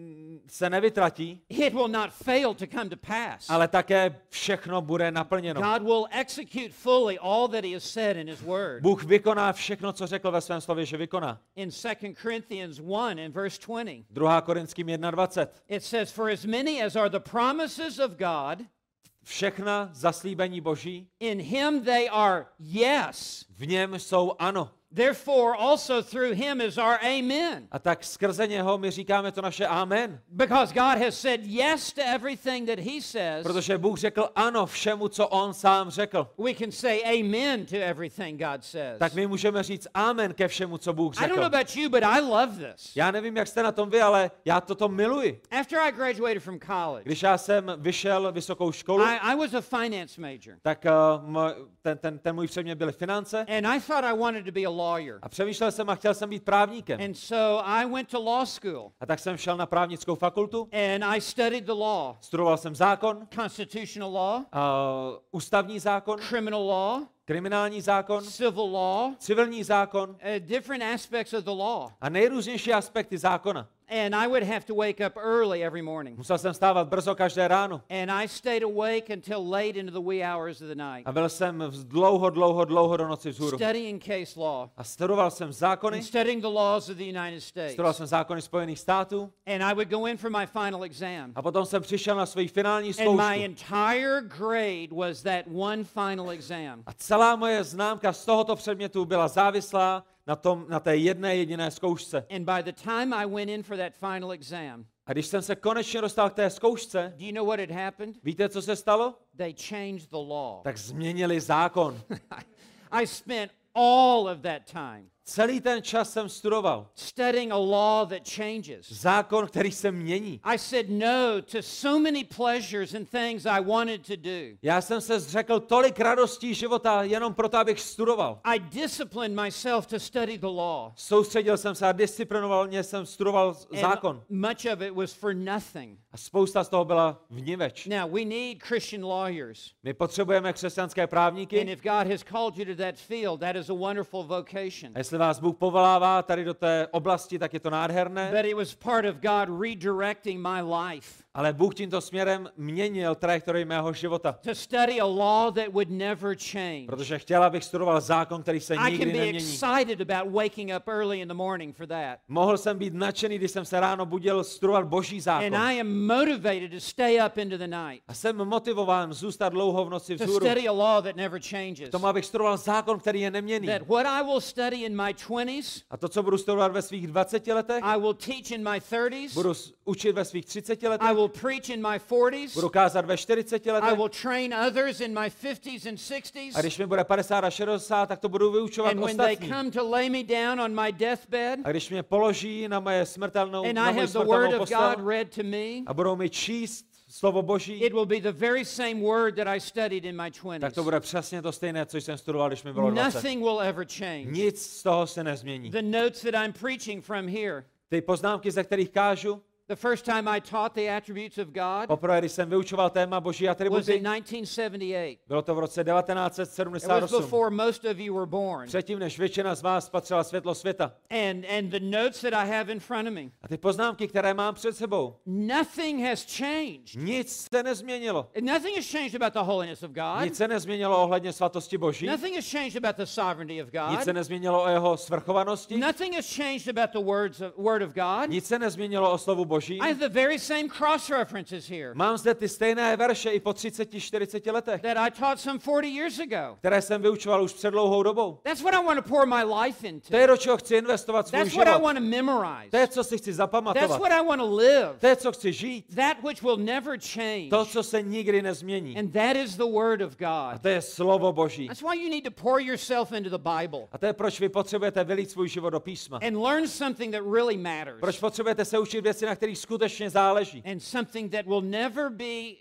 S2: se nevytratí,
S1: it will not fail to come to pass.
S2: ale také všechno bude naplněno.
S1: God will execute fully all that he has said in his word.
S2: Bůh vykoná všechno, co řekl ve svém slově, že vykoná.
S1: In 2 Corinthians 1 and verse 20,
S2: 2. Korinským 1:20.
S1: it says, for as many as are the promises of God,
S2: Všechna zaslíbení Boží,
S1: in him they are yes.
S2: v něm jsou ano.
S1: Therefore also through him is our amen.
S2: A tak skrze něho my říkáme to naše amen.
S1: Because God has said yes to everything that he says,
S2: Protože Bůh řekl ano všemu, co on sám řekl.
S1: we can say amen to everything God says.
S2: Tak my můžeme říct amen ke všemu, co Bůh
S1: I don't know
S2: řekl.
S1: about you, but I love this.
S2: Já nevím, jak jste na tom vy, ale já toto miluji.
S1: After I graduated from college,
S2: Když já jsem vyšel vysokou školu,
S1: I was a finance major.
S2: tak ten můj předmět byly finance
S1: And I thought I wanted to be a lawyer.
S2: a přemýšlel jsem a chtěl jsem být právníkem.
S1: And so I went to law school
S2: A tak jsem šel na právnickou fakultu,
S1: and I studied the law,
S2: studoval jsem zákon,
S1: constitutional law,
S2: ústavní zákon,
S1: criminal law,
S2: kriminální zákon,
S1: civil law,
S2: civilní zákon
S1: different aspects of the law.
S2: a nejrůznější aspekty zákona.
S1: And I would have to wake up early every morning.
S2: Musel jsem stávat brzo každé ráno.
S1: And I stayed awake until late into the wee hours of the night,
S2: A byl jsem dlouho do noci vzhůru.
S1: studying case law
S2: A studoval jsem zákony,
S1: and studying the laws of the United States.
S2: studoval jsem zákony Spojených států
S1: And I would go in for my final exam.
S2: a potom jsem přišel na svou finální
S1: And
S2: zkoušku.
S1: my entire grade was that one final exam.
S2: A celá moje známka z tohoto předmětu byla závislá na té jedné jediné zkoušce.
S1: And by the time I went in for that final exam,
S2: A když jsem se konečně dostal k té zkoušce,
S1: do you know what had happened?
S2: víte, co se stalo?
S1: They changed the law.
S2: Tak změnili zákon.
S1: I spent all of that time
S2: Celý ten čas jsem studoval.
S1: studying a law that changes.
S2: Zákon, který se mění.
S1: I said no to so many pleasures and things I wanted to do.
S2: Já jsem se zřekl tolik radostí života jenom proto, abych studoval.
S1: I disciplined myself to study the law.
S2: Soustředil jsem se a disciplinovaně jsem studoval zákon.
S1: And much of it was for nothing.
S2: A spousta z toho byla vniveč.
S1: Now, we need Christian lawyers.
S2: My potřebujeme křesťanské
S1: And
S2: právníky.
S1: if God has called you to that field, that is a wonderful vocation.
S2: A jestli vás Bůh povolává tady do té oblasti, tak je to nádherné.
S1: But it was part of God redirecting my life
S2: Ale Bůh tímto směrem měnil trajektorii mého života.
S1: to study a law that would never change.
S2: Protože chtěl, abych studoval zákon, který se
S1: I can
S2: nikdy
S1: be
S2: nemění.
S1: excited about waking up early in the morning for that.
S2: Mohl jsem být nadšený, když jsem se ráno budil studovat Boží
S1: And
S2: zákon.
S1: I am motivated to stay up into the night
S2: A jsem motivován zůstat dlouho v noci
S1: to
S2: vzhůru.
S1: study a law that never changes.
S2: K tomu, abych studoval zákon, který je neměnný.
S1: That what I will study in my 20s,
S2: A to, co budu studovat ve svých 20 letech,
S1: I will teach in my 30s,
S2: budu učit ve svých 30
S1: I
S2: letech,
S1: will preach in my 40s,
S2: budu kázat ve 40
S1: I
S2: letech,
S1: will train others in my 50s and 60s.
S2: a když mi bude 50 a 60, tak to budu vyučovat
S1: And when they
S2: ostatní.
S1: come to lay me down on my deathbed,
S2: A když mě položí na moje
S1: and I
S2: smrtelnou
S1: have the word of God
S2: postel
S1: read to me,
S2: a budou mi číst slovo Boží,
S1: it will be the very same word that I studied in my
S2: tak to
S1: 20s.
S2: bude přesně to stejné, co jsem studoval, když mi bylo 20.
S1: Nothing will ever change.
S2: Nic z toho se nezmění.
S1: The notes that I'm preaching from here,
S2: Ty poznámky, ze kterých kážu,
S1: the first time I taught the attributes of God
S2: poprvé, když jsem vyučoval téma Boží
S1: was
S2: atributy,
S1: in 1978.
S2: bylo to v roce
S1: It was
S2: 1978.
S1: before most of you were born.
S2: Předtím, než většina z vás spatřila světlo světa.
S1: And the notes that I have in front of me,
S2: A ty poznámky, které mám před sebou,
S1: nothing has changed.
S2: nic se nezměnilo.
S1: Nothing has changed about the holiness of God.
S2: Nic se nezměnilo ohledně svatosti Boží.
S1: Nothing has changed about the sovereignty of
S2: Nic se
S1: God.
S2: nezměnilo o jeho svrchovanosti.
S1: Nothing has changed about the word of God.
S2: Nic se nezměnilo o slovu Boží.
S1: I have the very same cross references here
S2: Mám zde ty stejné verše i po 30-40 letech,
S1: that I taught some 40 years ago.
S2: které jsem vyučoval už před dlouhou dobou.
S1: That's what I want to pour my life
S2: To je,
S1: into.
S2: do čeho chci investovat svůj
S1: That's what I
S2: život.
S1: want to memorize.
S2: To je, co si chci
S1: That's
S2: zapamatovat.
S1: what I want to live.
S2: To je, co chci žít.
S1: That which will never change.
S2: To, co se nikdy nezmění.
S1: And that is the word of
S2: A
S1: God.
S2: to je slovo Boží.
S1: That's why you need to pour yourself into the Bible
S2: A to je, proč vy potřebujete vylít svůj život do písma.
S1: and learn something that really matters.
S2: Proč potřebujete se učit věci, na kterých skutečně záleží.
S1: And something that will never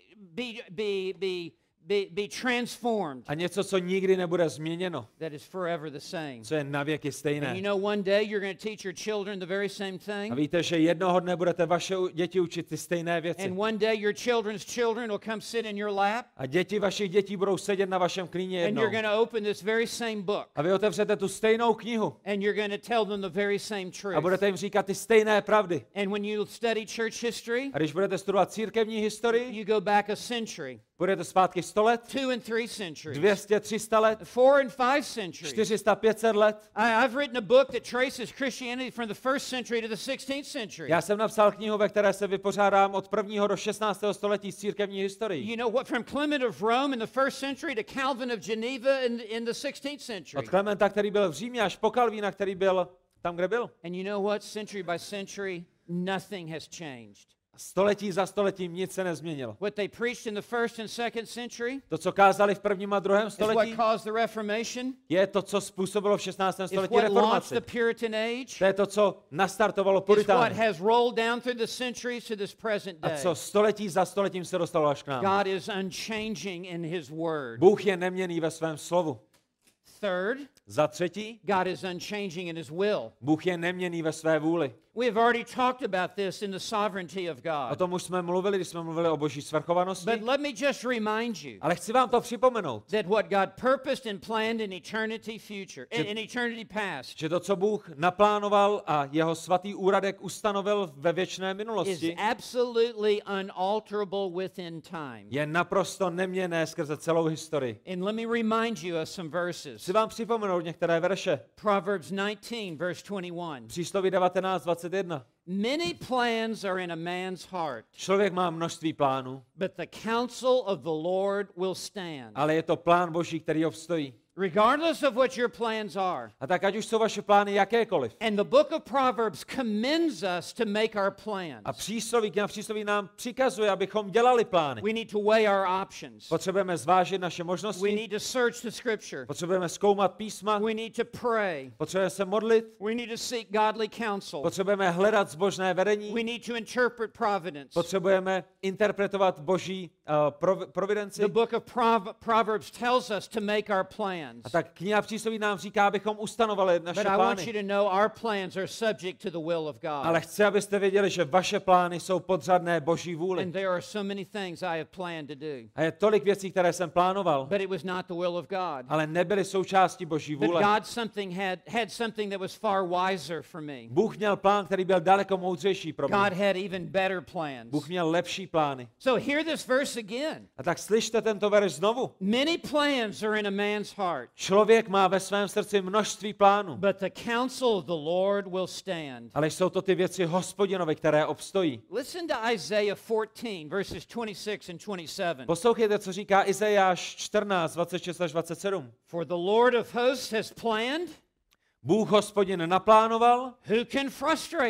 S1: be transformed,
S2: A něco, co nikdy nebude změněno.
S1: that is forever the same.
S2: Co je navěky
S1: And you
S2: stejné.
S1: know, one day you're going to teach your children the very same
S2: A
S1: thing.
S2: víte, že jednoho dne budete vaše děti učit ty stejné věci.
S1: And one day your children's children will come sit in your lap,
S2: A děti vašich dětí budou sedět na vašem klíně
S1: and
S2: jednou.
S1: you're going to open this very same book,
S2: A vy otevřete tu stejnou knihu.
S1: and you're going to tell them the very same
S2: A
S1: truth.
S2: budete jim říkat ty stejné pravdy.
S1: And when you study church history,
S2: A když budete studovat církevní historii,
S1: you go back a century,
S2: budete zpátky 100 let,
S1: 2 and 3 centuries,
S2: 200, 300 let,
S1: 4 and 5 centuries.
S2: 400, 500 let.
S1: I've written a book that traces Christianity from the 1st century to the 16th century.
S2: Já jsem napsal knihu, ve které se vypořádám od 1. do 16. století z církevní historií.
S1: You know what, from Clement of Rome in the 1st century to Calvin of Geneva in the 16th century.
S2: Od Klementa, který byl v Římě, až po Kalvína, který byl tam, kde byl.
S1: And you know what, century by century, nothing has changed.
S2: Století za stoletím nic se nezměnilo.
S1: What they preached in the 1st and 2nd century
S2: To, co kázali v 1. a 2.
S1: is what
S2: století,
S1: caused the Reformation,
S2: je to, co způsobilo v 16.
S1: is
S2: století
S1: what launched
S2: reformaci.
S1: the Puritan age,
S2: To je to, co nastartovalo
S1: is what
S2: puritány.
S1: has rolled down through the centuries to this present
S2: A
S1: day.
S2: co století za stoletím se dostalo až k nám.
S1: God is unchanging in His Word.
S2: Bůh je neměnný ve svém slovu.
S1: Third,
S2: Za třetí,
S1: God is unchanging in His will.
S2: Bůh je neměnný ve své vůli.
S1: We have already talked about this in the sovereignty of
S2: O
S1: God.
S2: tom už jsme mluvili, když jsme mluvili o boží svrchovanosti.
S1: But let me just remind you
S2: Ale chci vám to připomenout,
S1: that what God purposed and planned in eternity future, in eternity past,
S2: že to, co Bůh naplánoval a jeho svatý úradek ustanovil ve věčné
S1: is
S2: minulosti,
S1: absolutely unalterable within time.
S2: je naprosto neměnné skrze celou historii.
S1: And let me remind you of some verses.
S2: Chci vám připomenout některé verše.
S1: Proverbs 19, verse 21.
S2: Přísloví 19:21.
S1: Many plans are in a man's heart,
S2: Člověk má množství plánů,
S1: but the counsel of the Lord will stand.
S2: ale je to plán Boží, který obstojí.
S1: Regardless of what your plans are.
S2: A tak ať už jsou vaše plány jakékoliv.
S1: And the book of Proverbs commends us to make our plans.
S2: A kniha přísloví nám přikazuje, abychom dělali plány.
S1: We need to weigh our options.
S2: Potřebujeme zvážit naše
S1: We
S2: možnosti,
S1: need to search the scripture.
S2: potřebujeme zkoumat písma,
S1: We need to pray.
S2: potřebujeme se modlit,
S1: We need to seek godly counsel.
S2: potřebujeme hledat zbožné vedení,
S1: We need to interpret providence.
S2: potřebujeme interpretovat Boží providenci.
S1: The book of Proverbs tells us to make our plans.
S2: A tak kniha přísloví nám říká, abychom ustanovali naše
S1: But I want you
S2: plány.
S1: to know our plans are subject to the will of
S2: Ale
S1: God.
S2: chci, abyste věděli, že vaše plány jsou podřadné Boží vůli.
S1: And there are so many things I have planned to do.
S2: A je tolik věcí, které jsem plánoval,
S1: But it was not the will of God.
S2: ale nebyly součástí Boží
S1: But
S2: vůle.
S1: God had something that was far wiser for me.
S2: Bůh měl plán, který byl daleko moudřejší pro
S1: God
S2: mě.
S1: had even better plans.
S2: Bůh měl lepší plány.
S1: So hear this verse again.
S2: A tak slyšte tento verš znovu.
S1: Many plans are in a man's heart,
S2: Člověk má ve svém srdci množství plánů,
S1: but the counsel of the Lord will stand.
S2: ale jsou to ty věci Hospodinovi, které obstojí.
S1: Listen to Isaiah 14, verses 26 and 27.
S2: Poslouchejte, co říká Izajáš 14, 26 až 27.
S1: For the Lord of hosts has planned,
S2: Bůh Hospodin naplánoval,
S1: who can frustrate it?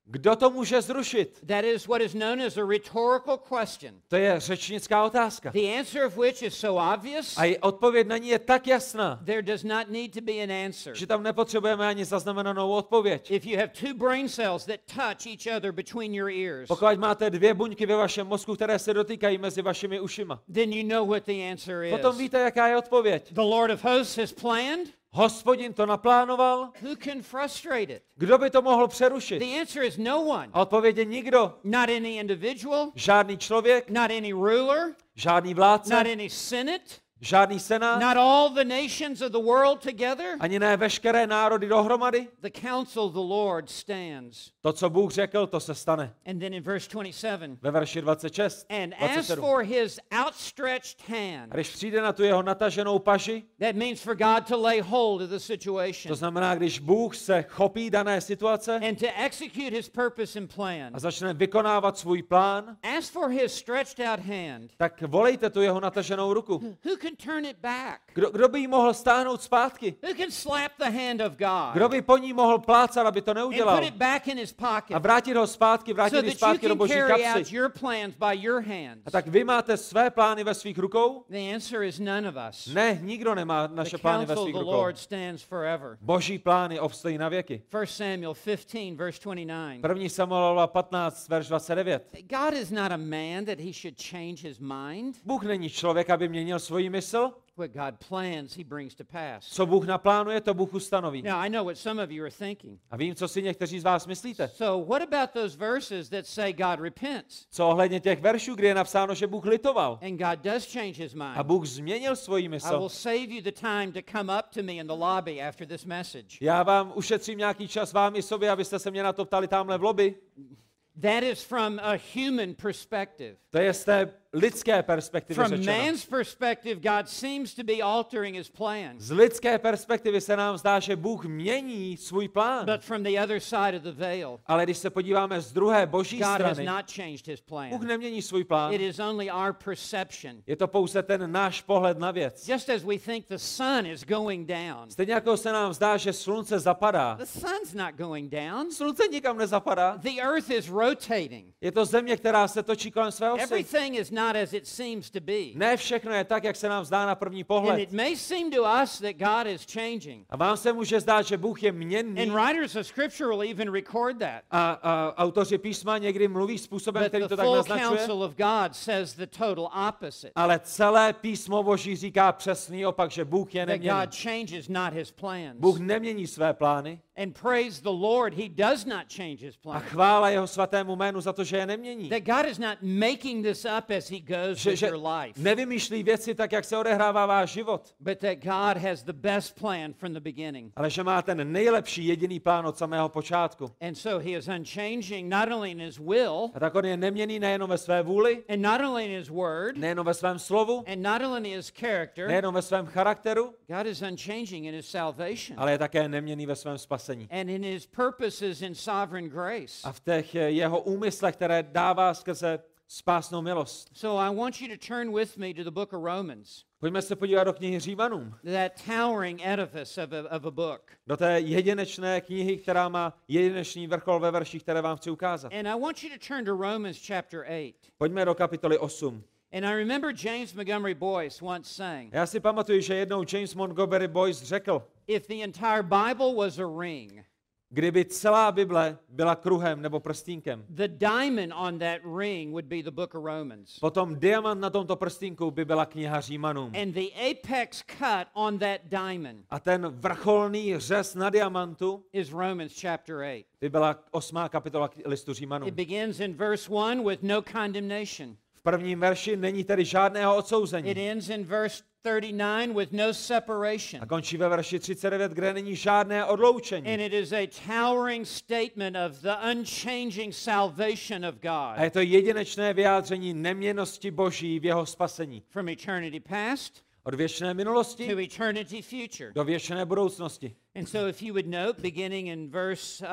S2: Kdo to může zrušit?
S1: That is what is known as a rhetorical question.
S2: To je řečnická otázka.
S1: The answer of which is so obvious,
S2: A i odpověď na ní je tak jasná,
S1: there does not need to be an answer.
S2: že tam nepotřebujeme ani zaznamenanou odpověď.
S1: If you have two brain cells that touch each other between your ears,
S2: Pokud máte dvě buňky ve vašem mozku, které se dotýkají mezi vašimi ušima,
S1: then you know what the answer is.
S2: potom víte, jaká je odpověď.
S1: The Lord of hosts has planned.
S2: Hospodin to naplánoval.
S1: Who can frustrate it?
S2: Kdo by to mohl přerušit?
S1: The answer is no one.
S2: A odpověď je nikdo.
S1: Not any individual,
S2: Žádný člověk,
S1: not any ruler,
S2: žádný vládce,
S1: not any senate,
S2: žádný senát,
S1: not all the nations of the world together.
S2: ani ne veškeré národy dohromady.
S1: The counsel of the Lord stands.
S2: To, co Bůh řekl, to se stane.
S1: And then in verse 27,
S2: Ve verši 26,
S1: and as
S2: 27.
S1: for his outstretched hand,
S2: A když přijde na tu jeho nataženou paži,
S1: that means for God to lay hold of the
S2: to
S1: situation
S2: znamená, když Bůh se chopí dané situace
S1: and to execute his purpose and plan.
S2: a začne vykonávat svůj plán,
S1: As for his stretched out hand,
S2: tak volejte tu jeho nataženou ruku.
S1: who can turn it back?
S2: Kdo by jí mohl stáhnout zpátky?
S1: Who can slap the hand of God
S2: Kdo by po ní mohl plácat, aby to
S1: and
S2: neudělal?
S1: put it back in his pocket
S2: A vrátit ho zpátky,
S1: so
S2: vrátit ji
S1: that you
S2: zpátky do
S1: can
S2: boží
S1: carry out
S2: kapsy.
S1: your plans by your hands?
S2: A tak vy máte své plány ve svých rukou?
S1: The answer is none of us.
S2: Ne, nikdo nemá
S1: The
S2: naše plány ve
S1: counsel of
S2: svých
S1: the
S2: rukou.
S1: Lord stands forever.
S2: Boží plány obstojí na věky.
S1: 1 Samuel 15, verse 29.
S2: 1. Samuelova 15, verš 29.
S1: God is not a man that he should change his mind.
S2: Bůh není člověk, aby měnil svoji mysl.
S1: What God plans, he brings to pass.
S2: Co Bůh naplánuje, to Bůh ustanoví.
S1: Now, I know what some of you are thinking.
S2: A vím, co si někteří z vás myslíte.
S1: So, what about those verses that say God repents?
S2: Co ohledně těch veršů, kdy je napsáno, že Bůh litoval
S1: And God does change his
S2: a
S1: mind.
S2: Bůh změnil svoji
S1: I will
S2: mysl.
S1: save you the time to come up to me in the lobby after this message.
S2: Já vám ušetřím nějaký čas vám i sobě, abyste se mě na to ptali tamhle v lobby.
S1: That is from a human perspective.
S2: To je z té lidské perspektivy
S1: From
S2: řečeno.
S1: man's perspective, God seems to be altering his plans.
S2: Z lidské perspektivy se nám zdá, že Bůh mění svůj plán.
S1: But from the other side of the veil,
S2: Ale když se podíváme z druhé boží
S1: God has
S2: strany,
S1: not changed his
S2: Bůh
S1: plan.
S2: nemění svůj plán.
S1: It is only our perception.
S2: Je to pouze ten náš pohled na věc.
S1: Just as we think the sun is going down,
S2: Stejně jako se nám zdá, že slunce zapadá.
S1: the sun's not going down.
S2: Slunce nikam nezapadá.
S1: The earth is rotating.
S2: Je to země, která se točí kolem své osy.
S1: Everything is not as it seems to be.
S2: Ne všechno je tak, jak se nám zdá na první
S1: And
S2: pohled.
S1: it may seem to us that God is changing.
S2: A vám se může zdát, že Bůh je měnný.
S1: And writers of Scripture will even record that.
S2: A autoři písma někdy mluví způsobem,
S1: But
S2: který
S1: the
S2: to tak
S1: full
S2: naznačuje.
S1: counsel of God says the total opposite.
S2: Ale celé písmo Boží říká přesný opak, že Bůh je
S1: That
S2: neměný.
S1: God changes not his plans.
S2: Bůh nemění své plány
S1: And praise the Lord, he does not change his
S2: a
S1: plans.
S2: chvála jeho svatému jménu za to, že je nemění.
S1: That God is not making this up as he goes with
S2: Že
S1: your life.
S2: nevymýšlí věci tak, jak se odehrává váš život,
S1: But that God has the best plan from the beginning.
S2: ale že má ten nejlepší jediný plán od samého počátku.
S1: And so he is unchanging not only in his will,
S2: A tak on je neměnný nejenom ve své vůli,
S1: and not only in his word,
S2: nejenom ve svém slovu,
S1: and not only in his character.
S2: nejenom ve svém charakteru,
S1: God is unchanging in his salvation
S2: ale je také neměnný ve svém spasení.
S1: and in his purposes in sovereign grace.
S2: A v těch jeho úmyslech, které dává skrze spásnou milost.
S1: So I want you to turn with me to the book of Romans,
S2: Pojďme se podívat do knihy Římanům,
S1: that towering edifice of a book.
S2: do té jedinečné knihy, která má jedinečný vrchol ve verších, které vám chci ukázat.
S1: And I want you to turn to Romans chapter 8.
S2: Pojďme do kapitoly 8.
S1: And I remember James Montgomery Boyce once saying,
S2: Já si pamatuju, že jednou James Montgomery Boyce řekl,
S1: if the entire Bible was a ring,
S2: kdyby celá Bible byla kruhem nebo prstínkem,
S1: the diamond on that ring would be the book of Romans.
S2: potom diamant na tomto prstínku by byla kniha Římanům.
S1: And the apex cut on that diamond
S2: A ten vrcholný řez na diamantu
S1: is Romans chapter 8.
S2: by byla 8. kapitola listu Římanům.
S1: It begins in verse 1 with no condemnation.
S2: V prvním verši není tedy žádného
S1: It
S2: odsouzení.
S1: ends in verse 39 with no separation.
S2: A končí ve verši 39, kde není žádné odloučení.
S1: And it is a towering statement of the unchanging salvation of
S2: A
S1: God
S2: je to jedinečné vyjádření neměnnosti Boží v jeho spasení.
S1: from eternity past
S2: Od věčné minulosti
S1: to eternity future.
S2: do věčné budoucnosti.
S1: And so if you would note, beginning in verse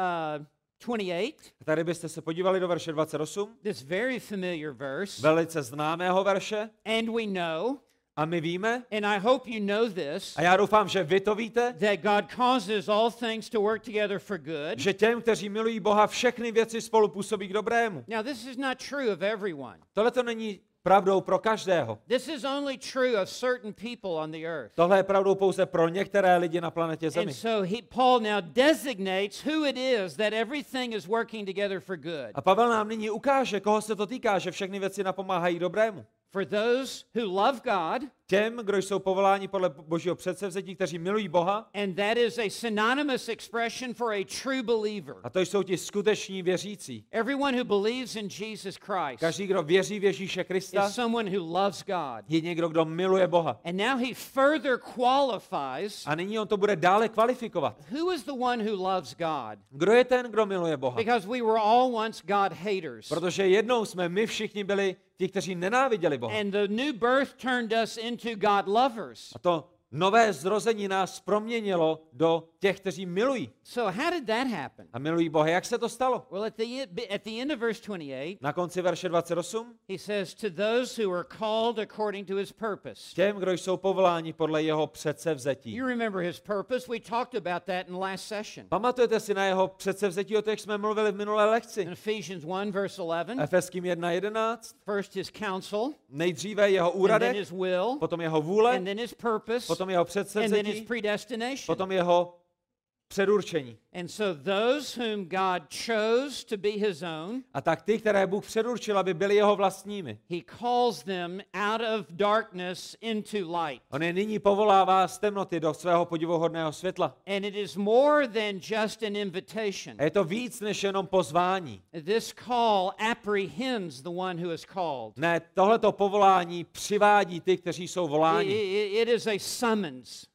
S1: 28,
S2: A tady byste se podívali do verše 28,
S1: this very familiar verse,
S2: velice známého verše.
S1: and we know
S2: A my víme,
S1: and I hope you know this,
S2: a já doufám, že vy to víte,
S1: that God causes all things to work together for good.
S2: že těm, kteří milují Boha, všechny věci spolu působí k dobrému.
S1: Now, this is not true of everyone.
S2: Tohle to není pravdou pro každého.
S1: This is only true of certain people on the earth.
S2: Tohle je pravdou pouze pro některé lidi na planetě Zemi.
S1: And so Paul now designates who it is that everything is working together for good.
S2: A Pavel nám nyní ukáže, koho se to týká, že všechny věci napomáhají dobrému.
S1: For those who love God,
S2: Těm, kdo jsou povoláni podle Božího předsevzetí, kteří milují Boha,
S1: and that is a synonymous expression for a true believer.
S2: a to jsou ti skuteční věřící.
S1: Everyone who believes in Jesus Christ
S2: Každý, kdo věří v Ježíše Krista,
S1: is someone who loves God.
S2: je někdo, kdo miluje Boha.
S1: And now he further qualifies
S2: A nyní on to bude dále kvalifikovat.
S1: who is the one who loves God.
S2: Kdo je ten, kdo miluje Boha?
S1: Because we were all once God haters.
S2: Protože jednou jsme my všichni byli ti, kteří nenáviděli Boha.
S1: And the new birth turned us into God lovers.
S2: A to nové zrození nás proměnilo do těch, kteří milují.
S1: So how did that happen?
S2: A milují Boha. Jak se to stalo?
S1: Well, at the end of verse 28,
S2: Na konci verše 28.
S1: he says, to those who are called according to his purpose.
S2: Těm, kdo jsou povoláni podle jeho předsevzetí.
S1: You remember his purpose? We talked about that in last session.
S2: Pamatujete si na jeho předsevzetí, o těch jsme mluvili v minulé lekci?
S1: In Ephesians 1, verse 11,
S2: Efeským 1:11.
S1: first his counsel,
S2: Nejdříve jeho
S1: and then
S2: úradek,
S1: his will,
S2: potom jeho vůle,
S1: and then his purpose,
S2: potom jeho
S1: and then his
S2: předsevzetí,
S1: predestination.
S2: potom jeho předurčení.
S1: And so those whom God chose to be his own,
S2: A tak ty, které Bůh předurčil, aby byli jeho vlastními.
S1: he calls them out of darkness into light.
S2: On je nyní povolává z temnoty do svého podivuhodného světla.
S1: And it is more than just an invitation.
S2: A je to víc než jenom pozvání.
S1: This call apprehends the one who is called.
S2: Ne, tohleto povolání přivádí ty, kteří jsou voláni.
S1: It is a summons.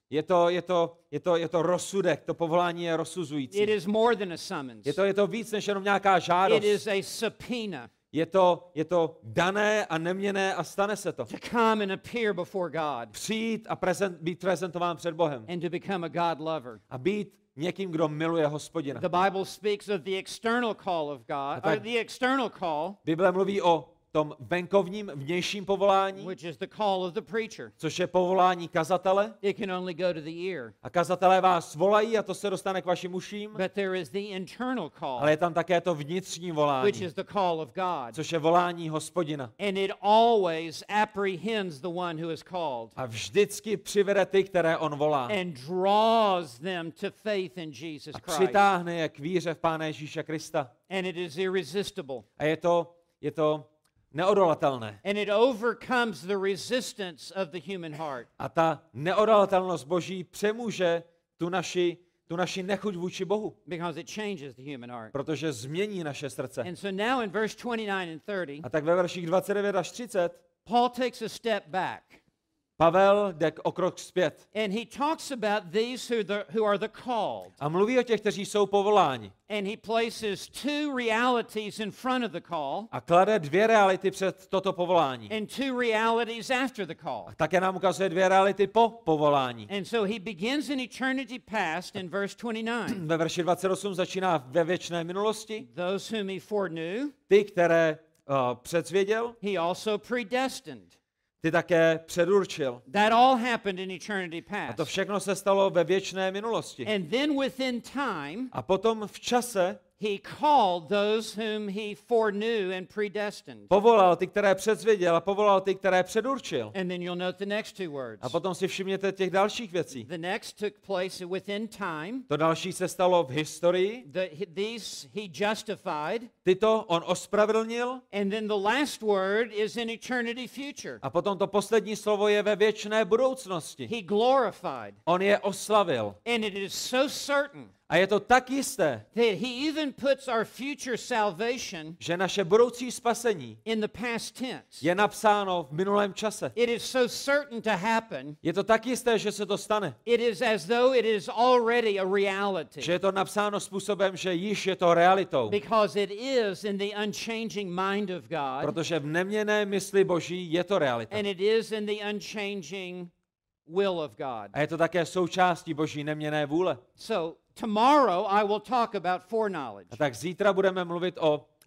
S2: Je to rozsudek, to povolání je rozsuzující.
S1: It is more than a summons.
S2: Je to víc než jenom nějaká žádost.
S1: It is a subpoena
S2: Je to dané a neměnné a stane se to.
S1: to come and appear before God
S2: Přijít a být prezentován před Bohem.
S1: and to become a God lover.
S2: A být někým, kdo miluje Hospodina.
S1: The Bible speaks of the external call of God, or the external call,
S2: Bible mluví o tom venkovním, vnějším povolání,
S1: which is the call of the preacher.
S2: což je povolání kazatele.
S1: It can only go to the ear.
S2: A kazatelé vás volají a to se dostane k vašim uším.
S1: But there is the internal call,
S2: Ale je tam také to vnitřní
S1: which
S2: volání,
S1: is the call of God.
S2: což je volání Hospodina.
S1: And it always apprehends the one who is called
S2: A vždycky přivede ty, které on volá.
S1: and draws them to faith in Jesus
S2: A
S1: Christ.
S2: přitáhne je k víře v Pána Ježíše Krista.
S1: And it is irresistible.
S2: A je to neodolatelné.
S1: And it overcomes the resistance of the human heart.
S2: A ta neodolatelnost Boží přemůže tu naši nechuť vůči Bohu,
S1: Because it changes the human heart.
S2: protože změní naše srdce.
S1: And so now in verse 29 and 30,
S2: A tak ve verších 29 až 30
S1: Paul takes a step back.
S2: Pavel jde o krok zpět
S1: And he talks about these who are the called.
S2: a mluví o těch, kteří jsou povoláni.
S1: And he places two realities in front of the call
S2: A klade dvě reality před toto povolání.
S1: and two realities after the call.
S2: A také nám ukazuje dvě reality po povolání.
S1: And so he begins in eternity past in verse 29.
S2: Ve verši 28 začíná ve věčné minulosti.
S1: Those whom he foreknew,
S2: Ty, které předsvěděl,
S1: he also predestined.
S2: ty také předurčil.
S1: That all happened in eternity
S2: A to
S1: past.
S2: všechno se stalo ve věčné minulosti.
S1: And then within time,
S2: A potom v čase
S1: he called those whom he foreknew and predestined.
S2: povolal ty, které předsvěděl, a povolal ty, které předurčil.
S1: And then you'll note the next two words.
S2: A potom si všimněte těch dalších věcí.
S1: The next took place within time.
S2: To další se stalo v historii.
S1: These he justified.
S2: Tyto on ospravedlnil.
S1: And then the last word is in eternity future.
S2: A potom to poslední slovo je ve věčné budoucnosti.
S1: He glorified.
S2: On je oslavil.
S1: And it is so certain
S2: A je to tak jisté,
S1: that he even puts our future salvation
S2: že naše budoucí spasení
S1: in the past tense.
S2: je napsáno v minulém čase.
S1: It is so certain to happen.
S2: Je to tak jisté, že se to stane.
S1: It is as though it is already a reality.
S2: Že je to napsáno způsobem, že již je to realitou.
S1: Because it is in the unchanging mind of God.
S2: Protože v neměnné mysli Boží je to realita.
S1: And it is in the unchanging will of God.
S2: A je to také součástí Boží neměnné vůle.
S1: So tomorrow I will talk about foreknowledge.
S2: A tak zítra budeme mluvit o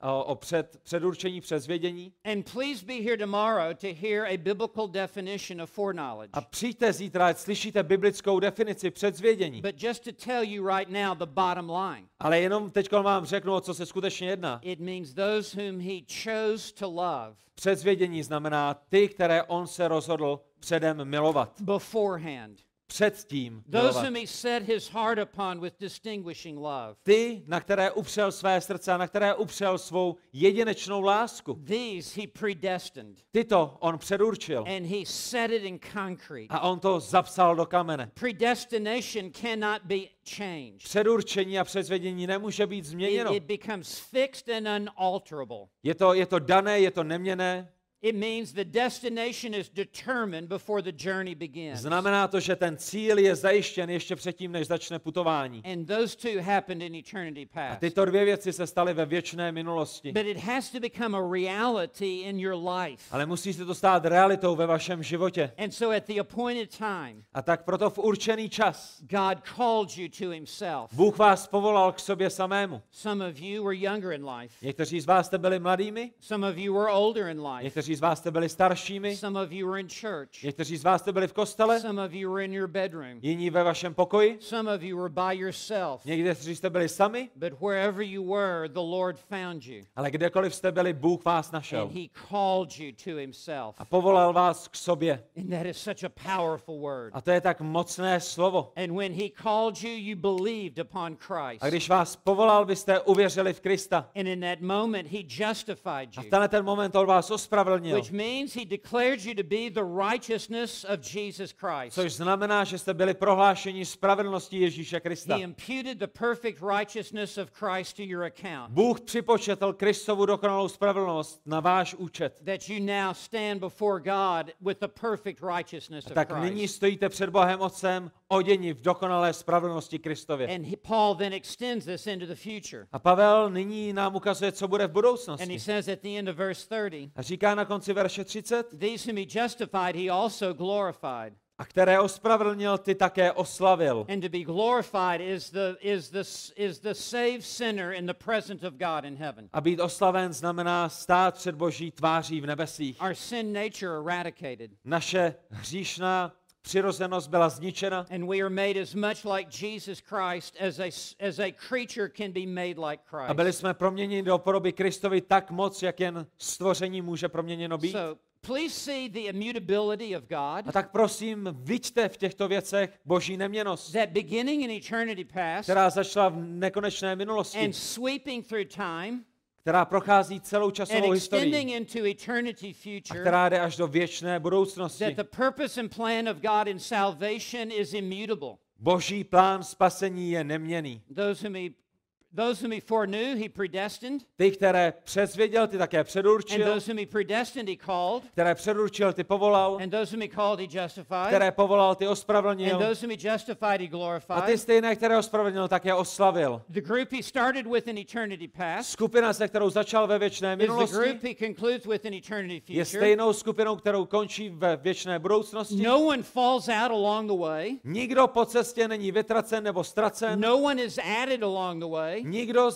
S2: o předurčení, předzvědění.
S1: And please be here tomorrow to hear a biblical definition of foreknowledge.
S2: A přijďte zítra, ať slyšíte biblickou definici předzvědění.
S1: But just to tell you right now the bottom line.
S2: Ale jenom teď vám řeknu, o co se skutečně jedná.
S1: It means those whom he chose to love.
S2: Předzvědění znamená ty, které on se rozhodl předem milovat.
S1: Beforehand.
S2: Předtím
S1: Those
S2: milovat.
S1: whom he set his heart upon with distinguishing love.
S2: Ty, na které upřel své srdce a na které upřel svou jedinečnou lásku.
S1: These he predestined.
S2: Tyto on předurčil.
S1: And he set it in concrete.
S2: A on to zapsal do kamene.
S1: Predestination cannot be changed.
S2: Předurčení a předzvědění nemůže být změněno.
S1: It becomes fixed and unalterable.
S2: Je to dané, je to neměnné.
S1: It means the destination is determined before the journey begins.
S2: Znamená to, že ten cíl je zajištěn ještě předtím, než začne putování.
S1: And those two happened in eternity
S2: A
S1: past.
S2: tyto dvě věci se staly ve věčné minulosti.
S1: But it has to become a reality in your life.
S2: Ale musí se to stát realitou ve vašem životě.
S1: And so at the appointed time,
S2: A tak proto v určený čas
S1: God called you to himself.
S2: Bůh vás povolal k sobě samému.
S1: Some of you were younger in life.
S2: Někteří z vás jste byli mladými,
S1: Some of you were older in life.
S2: někteří z vás jste byli staršími,
S1: Some of you were in church.
S2: někteří z vás jste byli v kostele,
S1: Some of you were in your bedroom.
S2: jiní ve vašem pokoji,
S1: Some of you were by yourself.
S2: někteří jste byli sami,
S1: But wherever you were, the Lord found you.
S2: ale kdekoliv jste byli, Bůh vás našel.
S1: And he called you to himself.
S2: A povolal vás k sobě.
S1: And that is such a powerful word.
S2: A to je tak mocné slovo.
S1: And when he called you, you believed upon Christ.
S2: A když vás povolal, vy jste uvěřili v Krista.
S1: And in that moment, he justified
S2: A v
S1: you.
S2: tenhle ten moment on vás ospravedlnil.
S1: Which means he declared you to be the righteousness of Jesus Christ.
S2: Což znamená, že jste byli prohlášeni spravedlností Ježíše Krista.
S1: He imputed the perfect righteousness of Christ to your account.
S2: Bůh připočetl Kristovu dokonalou spravedlnost na váš účet.
S1: That you now stand before God with the perfect righteousness of
S2: Tak nyní
S1: Christ.
S2: stojíte před Bohem Otcem oděni v dokonalé spravedlnosti Kristově.
S1: And Paul then extends this into the future.
S2: A Pavel nyní nám ukazuje, co bude v
S1: And he
S2: budoucnosti.
S1: says at the end of verse 30,
S2: A říká na konci verše 30,
S1: these whom he justified, he also glorified.
S2: a které ospravedlnil, ty také oslavil.
S1: And to be glorified is the saved sinner in the presence of God in heaven.
S2: A být oslaven znamená stát před Boží tváří v nebesích.
S1: Our sin nature eradicated.
S2: Naše hříšná přirozenost byla zničena
S1: And we are made as much like Jesus Christ as a creature can be made like
S2: a byli
S1: Christ.
S2: jsme proměněni do podoby Kristovi tak moc, jak jen stvoření může proměněno být.
S1: So please see the immutability of
S2: A
S1: God
S2: tak prosím, viďte v těchto věcech Boží neměnnost,
S1: that beginning in eternity past
S2: která začala v nekonečné minulosti,
S1: and sweeping through time
S2: která prochází celou
S1: and
S2: časovou
S1: extending
S2: historii
S1: into eternity
S2: a
S1: future,
S2: která jde až do věčné budoucnosti.
S1: that the purpose and plan of God in salvation is immutable.
S2: Boží plán spasení je neměnný.
S1: Those whom he foreknew, he predestined.
S2: Ty, které předzvěděl, ty také
S1: And
S2: předurčil,
S1: those whom he predestined, he called.
S2: které předurčil, ty povolal,
S1: And those whom he called, he justified.
S2: které povolal, ty
S1: And
S2: ospravedlnil,
S1: those whom he justified, he
S2: a ty
S1: glorified.
S2: stejné, které ospravedlnil, také oslavil.
S1: The group he started with in eternity past
S2: Skupina, se kterou začal ve věčné
S1: is the
S2: minulosti,
S1: group he concludes with in eternity
S2: je
S1: future.
S2: stejnou skupinou, kterou končí ve věčné budoucnosti.
S1: No one falls out along the way.
S2: Nikdo po cestě není vytracen nebo ztracen.
S1: No one is added along the way.
S2: Nikdo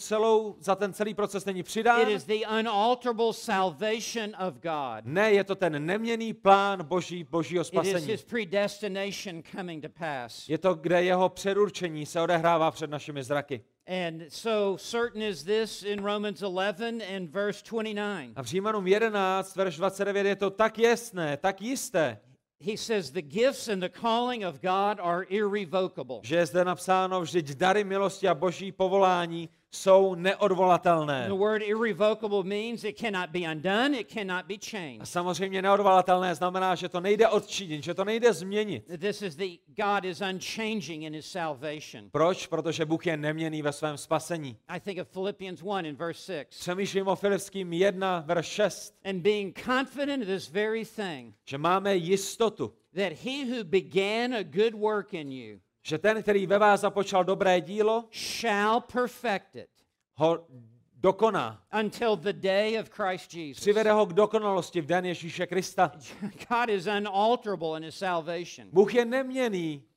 S2: za ten celý proces není přidán.
S1: It is the unalterable salvation of God.
S2: Ne, je to ten neměnný plán Božího
S1: It is
S2: spasení.
S1: his predestination coming to pass.
S2: Je to, kde jeho předurčení se odehrává před našimi zraky.
S1: And so certain is this in Romans 11 and verse 29.
S2: A v Římanům 11, verš 29 je to tak jasné, tak jisté,
S1: He says the gifts and the calling of God are irrevocable.
S2: že je zde napsáno, vždyť dary milosti a Boží povolání jsou neodvolatelné.
S1: The word irrevocable means it cannot be undone, it cannot be
S2: A
S1: changed.
S2: samozřejmě neodvolatelné znamená, že to nejde odčinit, že to nejde změnit.
S1: God is unchanging in his salvation.
S2: Proč? Protože Bůh je neměnný ve svém spasení.
S1: I think of Philippians 1 in verse 6.
S2: Přemýšlím o Filipským 1, verš 6,
S1: And being confident of this very thing,
S2: že máme jistotu,
S1: that he who began a good work in you
S2: že ten, který ve vás započal dobré dílo,
S1: shall perfect it
S2: ho dokoná.
S1: until the day of Christ Jesus.
S2: Přivede ho k dokonalosti v den Ježíše Krista.
S1: God is unalterable in his salvation.
S2: Bůh je neměnný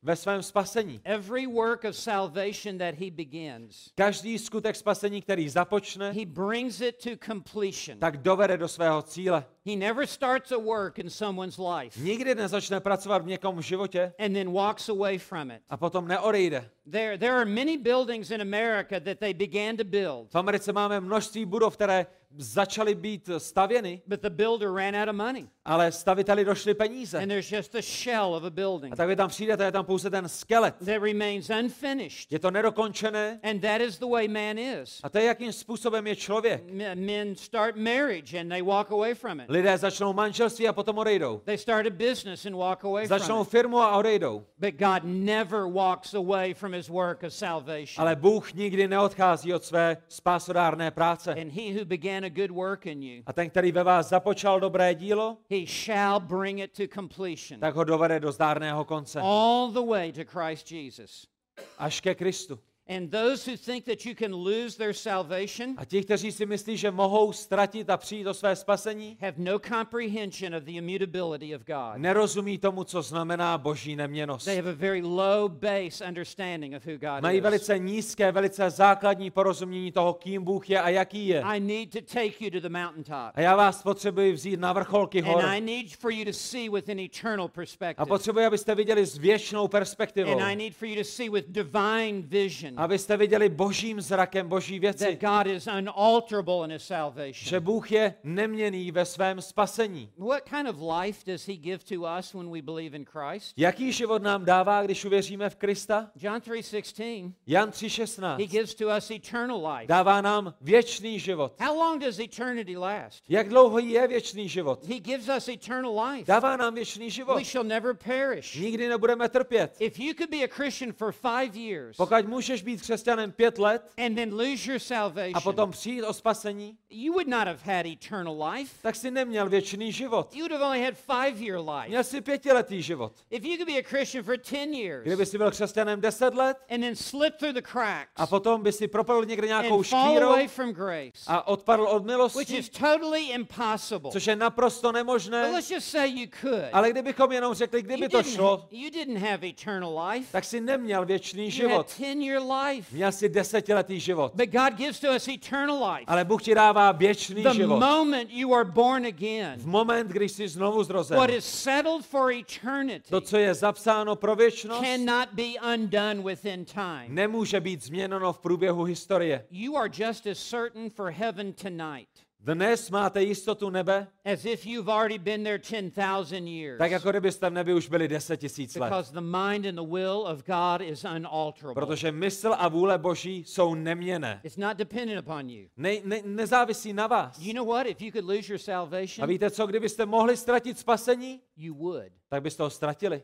S2: ve svém spasení.
S1: Every work of salvation that he begins,
S2: Každý skutek spasení, který započne,
S1: he brings it to completion.
S2: tak dovede do svého cíle.
S1: He never starts a work in someone's life
S2: Nikdy nezačne pracovat v někom životě
S1: and then walks away from it.
S2: a potom neodejde.
S1: There are many buildings in America that they began to build,
S2: V Americe máme množství budov, které začaly být stavěny,
S1: but the builder ran out of money.
S2: ale staviteli došly peníze.
S1: And there's just a shell of a building
S2: A tak vy tam přijdete, je tam pouze ten skelet.
S1: that remains unfinished.
S2: Je to nedokončené
S1: And that is the way man is.
S2: a to je, jakým způsobem je člověk.
S1: Men start marriage and they walk away from it.
S2: Lidé začnou manželství a potom odejdou.
S1: They start a business and walk away from
S2: Začnou
S1: it.
S2: firmu a odejdou.
S1: But God never walks away from his work of salvation.
S2: Ale Bůh nikdy neodchází od své spásodárné práce.
S1: And he who began a good work in you,
S2: A ten, který ve vás započal dobré dílo,
S1: he shall bring it to completion.
S2: tak ho dovede do zdárného konce.
S1: All the way to Christ Jesus.
S2: Až ke Kristu.
S1: And those who think that you can lose their salvation
S2: A ti, kteří si myslí, že mohou ztratit a přijít o své spasení,
S1: have no comprehension of the immutability of God.
S2: nerozumí tomu, co znamená boží neměnnost.
S1: They have a very low base understanding of who God
S2: Mají
S1: is.
S2: velice nízké, velice základní porozumění toho, kým Bůh je a jaký je.
S1: I need to take you to the mountaintop.
S2: A já vás potřebuji vzít na vrcholky hor.
S1: And I need for you to see with an eternal
S2: A
S1: perspective.
S2: potřebuji, abyste viděli s věčnou perspektivou.
S1: And I need for you to see with divine vision
S2: Abyste viděli božím zrakem boží věci.
S1: that God is unalterable in his
S2: Že
S1: salvation.
S2: Bůh je neměnný ve svém spasení.
S1: What kind of life does he give to us when we believe in Christ?
S2: Jaký život nám dává, když uvěříme v Krista?
S1: John 3:16,
S2: Jan
S1: he
S2: 3:16.
S1: gives to us eternal life.
S2: Dává nám věčný život.
S1: How long does eternity last?
S2: Jak dlouho je věčný život?
S1: He gives us eternal life.
S2: Dává nám věčný život.
S1: We shall never perish.
S2: Nikdy nebudeme trpět.
S1: If you could be a Christian for 5 years
S2: Pokud můžeš být křesťanem 5 let
S1: and then lose your
S2: a
S1: salvation,
S2: potom přijít o spasení,
S1: you would not have had eternal life.
S2: tak si neměl věčný život.
S1: You would have only had 5-year life.
S2: Měl si 5letý život.
S1: If you could be a Christian for 10 years
S2: Kdyby si byl křesťanem 10 let
S1: and then slip through the cracks
S2: a potom by si propadl někde nějakou
S1: and fall
S2: škvírou
S1: away from grace,
S2: a odpadl od
S1: which
S2: milosti,
S1: is totally impossible.
S2: což je naprosto
S1: But
S2: nemožné,
S1: let's just say you could.
S2: ale kdybychom jenom řekli, kdyby to šlo,
S1: You didn't have eternal life.
S2: tak si neměl věčný
S1: You had
S2: život.
S1: 10-year life.
S2: Měl si 10letý život.
S1: But God gives to us eternal life.
S2: Ale Bůh ti dává věčný
S1: The
S2: život.
S1: moment you are born again,
S2: V moment, když jsi znovu zrozen.
S1: what is settled for eternity
S2: To, co je zapsáno pro věčnost,
S1: cannot be undone within time.
S2: nemůže být změněno v průběhu historie.
S1: You are just as certain for heaven tonight
S2: Dnes máte jistotu nebe,
S1: as if you've already been there 10,000 years.
S2: tak jako kdybyste v nebi už byli 10 000 let.
S1: Because the mind and the will of God is unalterable.
S2: Protože mysl a vůle Boží jsou neměnné.
S1: It's not dependent upon you.
S2: Nezávisí na vás.
S1: You know what? If you could lose your
S2: A
S1: salvation,
S2: víte co, kdybyste mohli ztratit spasení,
S1: you would.
S2: tak byste ho ztratili.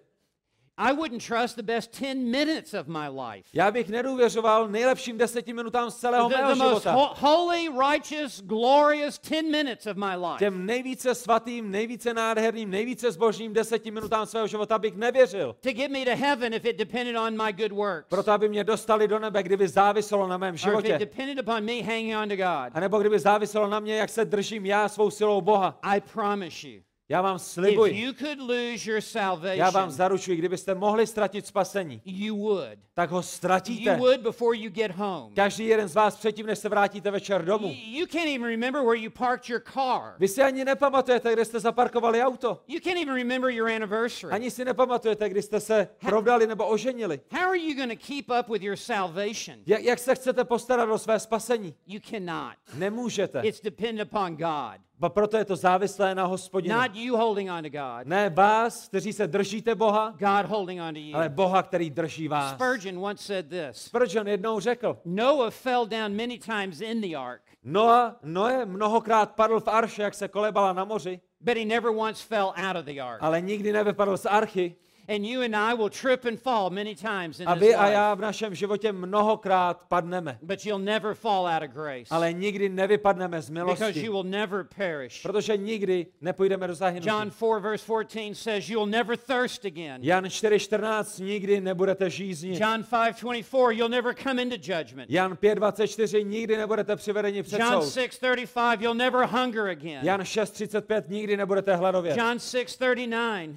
S1: I wouldn't trust the best 10 minutes of my life.
S2: Já bych nedůvěřoval nejlepším 10 minutám z celého
S1: The
S2: mého
S1: most
S2: života.
S1: holy, righteous, glorious 10 minutes of my life.
S2: Těm nejvíce svatým, nejvíce nádherným, nejvíce zbožným 10 minutám svého života bych nevěřil.
S1: To get me to heaven if it depended on my good works.
S2: Proto, aby mě dostali do nebe, kdyby záviselo na mém
S1: Or if it
S2: životě.
S1: depended upon me hanging on to God.
S2: A nebo kdyby záviselo na mě, jak se držím já svou silou Boha.
S1: I promise you,
S2: Já vám
S1: if
S2: slibuji,
S1: you could lose your
S2: já vám
S1: salvation,
S2: zaručuji, kdybyste mohli ztratit spasení,
S1: you would.
S2: tak ho
S1: You
S2: ztratíte.
S1: would before you get home.
S2: Každý jeden z vás předtím, než se vrátíte večer domů.
S1: You can't even remember where you parked your car.
S2: Vy si ani nepamatujete, kde jste zaparkovali auto.
S1: You can't even remember your anniversary.
S2: Ani si nepamatujete, kdy jste se provdali nebo oženili.
S1: How are you going to keep up with your salvation?
S2: Jak se chcete postarat o své spasení?
S1: You cannot.
S2: Nemůžete.
S1: It's dependent upon God,
S2: A proto je to závislé na Hospodinu.
S1: not you holding on to God,
S2: Ne vás, kteří se držíte Boha,
S1: God holding on to you.
S2: ale Boha, který drží vás.
S1: Spurgeon once said this:
S2: Spurgeon jednou řekl,
S1: Noah fell down many times in the ark,
S2: Noé mnohokrát padl v arše, jak se kolebala na moři,
S1: but he never once fell out of the ark.
S2: ale nikdy nevypadl z archy.
S1: And you and I will trip and fall many times in
S2: A
S1: this
S2: vy a
S1: life,
S2: já v našem životě mnohokrát padneme,
S1: but you'll never fall out of grace
S2: ale nikdy nevypadneme z
S1: because
S2: milosti,
S1: you will never perish.
S2: protože nikdy nepůjdeme do
S1: John
S2: zahynutí.
S1: 4 verse 14 says you'll never thirst again.
S2: Jan 4:14, nikdy nebudete žíznit.
S1: John 5:24 you'll never come into judgment.
S2: Jan 5:24, nikdy nebudete přivedeni před
S1: John
S2: soud.
S1: 6:35 you'll never hunger again.
S2: Jan 6:35, nikdy nebudete hladovět.
S1: John 6:39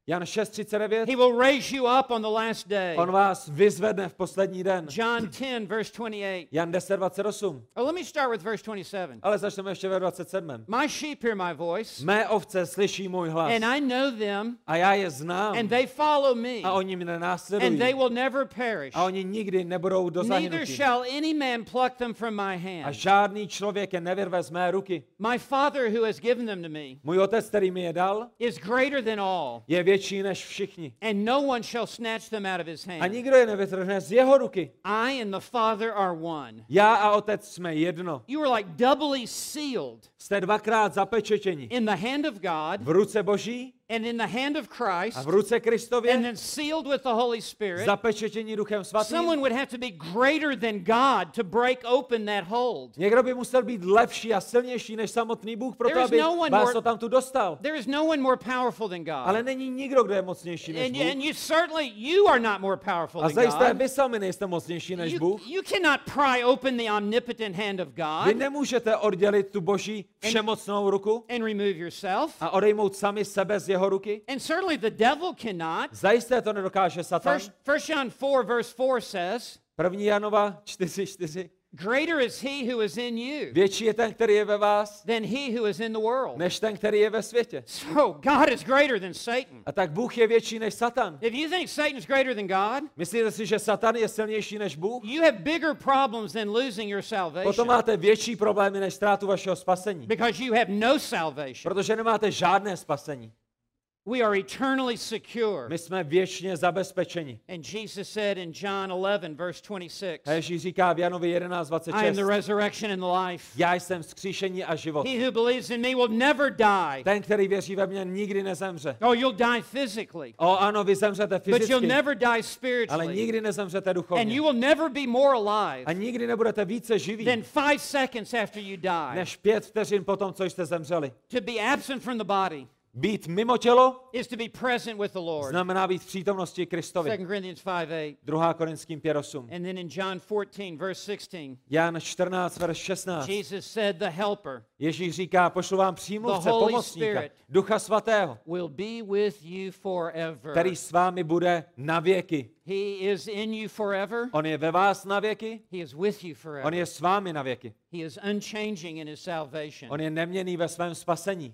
S2: Jan 6:39.
S1: He will raise you up on the last day.
S2: On vás vyzvedne v poslední den.
S1: John 10, verse 28.
S2: Jan 10:28.
S1: Oh, let me start with verse 27.
S2: Ale začneme ještě ve 27.
S1: My sheep hear my voice,
S2: Mé ovce slyší můj hlas.
S1: and I know them,
S2: A já je znám.
S1: and they follow me,
S2: A oni mě
S1: and
S2: následují.
S1: they will never perish.
S2: A oni nikdy nebudou do
S1: Neither
S2: zahynutí.
S1: shall any man pluck them from my
S2: A
S1: hand.
S2: žádný člověk je nevyrve z mé ruky.
S1: My Father who has given them to me
S2: Můj otec, který mi je dal,
S1: is greater than all,
S2: je větší než všichni.
S1: and no one shall snatch them out of his
S2: A
S1: hand.
S2: nikdo je nevytrhne z jeho ruky.
S1: I and the Father are one.
S2: Já a otec jsme jedno.
S1: You are like doubly sealed
S2: Jste dvakrát zapečetěni.
S1: in the hand of God
S2: V ruce Boží
S1: and in the hand of Christ,
S2: a v ruce
S1: and
S2: Kristově,
S1: then sealed with the Holy Spirit.
S2: zapečetění Duchem Svatým.
S1: Someone would have to be greater than God to break open that hold.
S2: Někdo by musel být lepší a silnější než samotný Bůh, proto
S1: There is
S2: aby
S1: no one
S2: vás
S1: more-
S2: to tam tu dostal.
S1: There is no one more powerful than
S2: Ale
S1: God.
S2: není nikdo, kdo je mocnější než
S1: And
S2: Bůh.
S1: you certainly, you are not more powerful
S2: A
S1: than
S2: zajisté
S1: God.
S2: vy sami nejste mocnější než Bůh.
S1: You cannot pry open the omnipotent hand of
S2: Vy
S1: God
S2: nemůžete oddělit tu Boží všemocnou ruku
S1: and remove yourself.
S2: a odejmout sami sebe z jeho ruky.
S1: And certainly the devil cannot.
S2: Zajisté to nedokáže Satan.
S1: First John 4, verse 4 says,
S2: 1. Janova 4:4.
S1: greater is he who is in you
S2: Větší je ten, který je ve vás,
S1: than he who is in the world.
S2: než ten, který je ve světě.
S1: So God is greater than Satan.
S2: A tak Bůh je větší než Satan.
S1: If you think Satan is greater than God,
S2: Myslíte si, že Satan je silnější než Bůh?
S1: you have bigger problems than losing your
S2: Potom
S1: salvation
S2: máte větší problémy než ztrátu vašeho spasení.
S1: because you have no salvation.
S2: Protože nemáte žádné spasení.
S1: We are eternally secure.
S2: My jsme věčně zabezpečeni.
S1: And Jesus said in John 11, verse 26,
S2: A Ježíš říká v Janovi
S1: I am the
S2: 11:26.
S1: resurrection and the life.
S2: Já jsem vzkříšení a život.
S1: He who believes in me will never die.
S2: Ten, který věří ve mě, nikdy nezemře.
S1: Oh, you'll die physically,
S2: O ano, vy zemřete
S1: but you'll
S2: fyzicky,
S1: never die
S2: ale
S1: spiritually.
S2: nikdy nezemřete
S1: And
S2: duchovně.
S1: you will never be more
S2: A
S1: alive
S2: nikdy nebudete více živí,
S1: than 5 seconds after you die.
S2: než 5 vteřin po tom, co jste zemřeli.
S1: To be absent from the body
S2: Být mimo tělo
S1: is to be present with the Lord.
S2: znamená být v přítomnosti Kristovi.
S1: 2 Corinthians 5:8.
S2: 2. Korinským 5:8.
S1: And then in John 14, verse 16,
S2: Jan 14, verš 16.
S1: Jesus said, the helper
S2: Ježíš říká, pošlu vám přímluvce,
S1: The Holy
S2: pomocníka,
S1: Spirit.
S2: Ducha Svatého,
S1: will be with you forever.
S2: který s vámi bude na věky.
S1: He is in you forever.
S2: On je ve vás na věky,
S1: He is with you
S2: on
S1: forever.
S2: je s vámi na věky.
S1: He is unchanging in his salvation.
S2: On je neměnný ve svém spasení.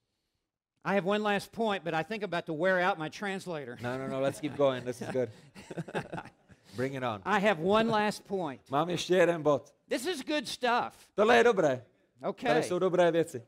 S1: I have one last point, but I think I'm about to wear out my translator.
S2: No, let's keep going, this is good. Bring it on.
S1: I have one last point.
S2: Mám ještě jeden bod.
S1: This is good stuff.
S2: Tohle je dobré. Tady
S1: Okay.
S2: jsou dobré věci.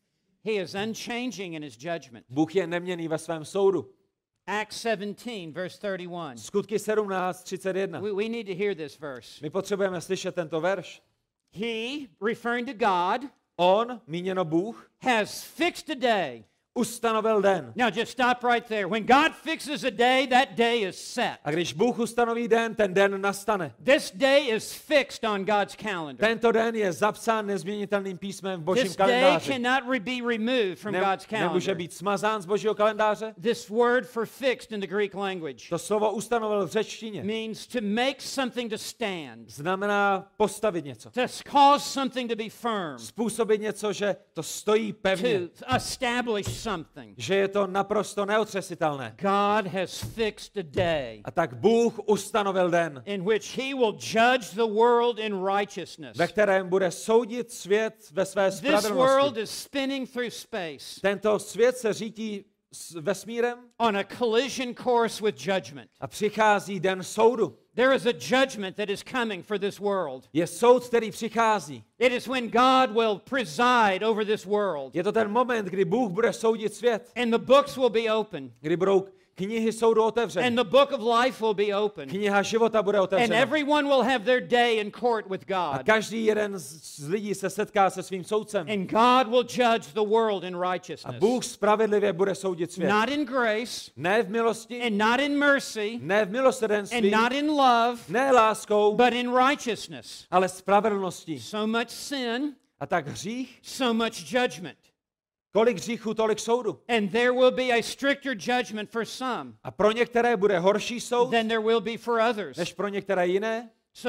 S1: He is unchanging in his judgment.
S2: Bůh je neměnný ve svém soudu.
S1: Acts 17, verse 31.
S2: Skutky 17:31.
S1: We need to hear this verse.
S2: My potřebujeme slyšet tento verš.
S1: He, referring to God,
S2: On, míněno Bůh,
S1: has fixed a day.
S2: ustanovil den.
S1: Now just stop right there. When God fixes a day, that day is set.
S2: A když Bůh ustanoví den, ten den nastane.
S1: This day is fixed on God's calendar.
S2: Tento den je zapsán nezměnitelným písmem v Božím
S1: This day
S2: kalendáři.
S1: cannot be removed from God's
S2: Nemůže
S1: calendar.
S2: být smazán z Božího kalendáře.
S1: This word for fixed in the Greek language
S2: To slovo ustanovil v řečtině.
S1: means to make something to stand,
S2: Znamená postavit něco.
S1: to cause something to be firm,
S2: Způsobit něco, že to stojí pevně.
S1: to establish something.
S2: Že je to naprosto neotřesitelné.
S1: God has fixed a day
S2: A tak Bůh ustanovil den,
S1: in which he will judge the world in righteousness.
S2: ve kterém bude soudit svět ve své
S1: This world
S2: spravedlnosti.
S1: is spinning through space
S2: Tento svět se řítí s vesmírem
S1: on a collision course with judgment.
S2: a přichází den soudu.
S1: There is a judgment that is coming for this world.
S2: Je soud, který přichází.
S1: It is when God will preside over this world,
S2: Je to ten moment, kdy Bůh bude soudit svět,
S1: and the books will be open,
S2: kdy budou knihy soudu otevřeny.
S1: and the book of life will be open,
S2: Kniha života bude
S1: and
S2: otevřena.
S1: everyone will have their day in court with
S2: A
S1: God,
S2: každý jeden z lidí se setká se svým soudcem.
S1: and God will judge the world in
S2: A
S1: righteousness.
S2: Bůh spravedlivě bude soudit svět.
S1: Not in grace,
S2: Ne v milosti,
S1: and not in mercy,
S2: ne v milosrdenství,
S1: and not in love,
S2: ne láskou,
S1: but in righteousness.
S2: ale spravedlností.
S1: So much sin,
S2: A tak hřích,
S1: so much judgment.
S2: kolik hříchů, tolik soudu.
S1: And there will be a stricter judgment for some
S2: A pro některé bude horší soud,
S1: than there will be for others.
S2: než pro některé jiné.
S1: So,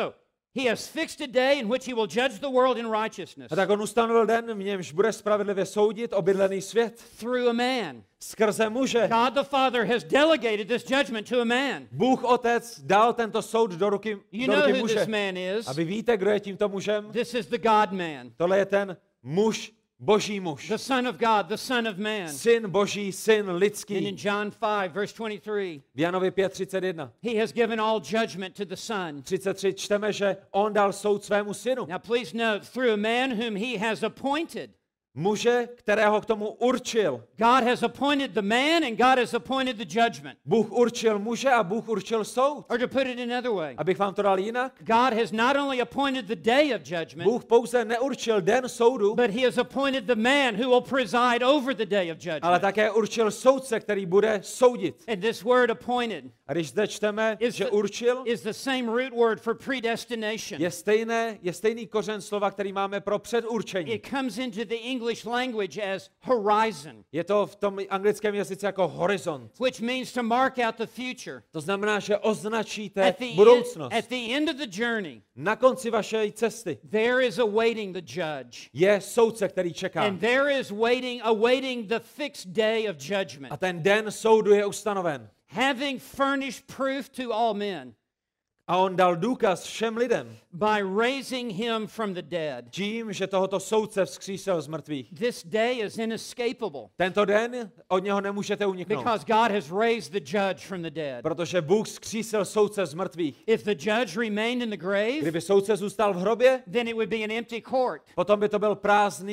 S1: He has fixed a day in which he will judge the world in righteousness
S2: A tak on ustanovil den, v němž bude spravedlivě soudit obydlený svět.
S1: through a man.
S2: Skrze muže.
S1: God the Father has delegated this judgment to a man.
S2: Bůh Otec dal tento soud do ruky
S1: You know who
S2: muže.
S1: this man is.
S2: A vy víte, kdo je tímto mužem?
S1: This is the God man,
S2: Tohle je ten muž, boží muž.
S1: the Son of God, the Son of Man.
S2: Syn boží, syn
S1: And in
S2: lidský.
S1: John 5, verse 23,
S2: V Janovi 5:31.
S1: he has given all judgment to the Son.
S2: 33 čteme, že on dal soud svému synu.
S1: Now please note, through a man whom he has appointed.
S2: Muže, kterého k tomu určil.
S1: God has appointed the man and God has appointed the judgment.
S2: Bůh určil muže a Bůh určil soud.
S1: Or to put it another way,
S2: Abych vám to dal jinak.
S1: God has not only appointed the day of judgment,
S2: Bůh pouze neurčil den soudu,
S1: but he has appointed the man who will preside over the day of
S2: ale
S1: judgment.
S2: také určil soudce, který bude soudit.
S1: And this word appointed
S2: A když zde čteme, že určil,
S1: is the same root word for predestination.
S2: je stejný kořen slova, který máme pro předurčení.
S1: It comes into the English language as horizon,
S2: Je to v tom anglickém jazyce jako horizont.
S1: which means to mark out the future.
S2: To znamená, že označíte
S1: At the,
S2: budoucnost.
S1: at the end of the journey,
S2: Na konci vaší cesty
S1: there is awaiting the judge.
S2: je soudce, který čeká.
S1: And there is awaiting the fixed day of judgment.
S2: A ten den soudu je ustanoven.
S1: Having furnished proof to all men
S2: A on dal důkaz všem lidem
S1: by raising him from the dead.
S2: tím, že tohoto soudce vzkřísil z mrtvých.
S1: This day is inescapable
S2: Tento den od něho nemůžete uniknout,
S1: because God has raised the judge from the dead.
S2: protože Bůh vzkřísil soudce z mrtvých.
S1: If the judge remained in the grave,
S2: Kdyby soudce zůstal v hrobě,
S1: then it would be an empty court.
S2: potom by to byl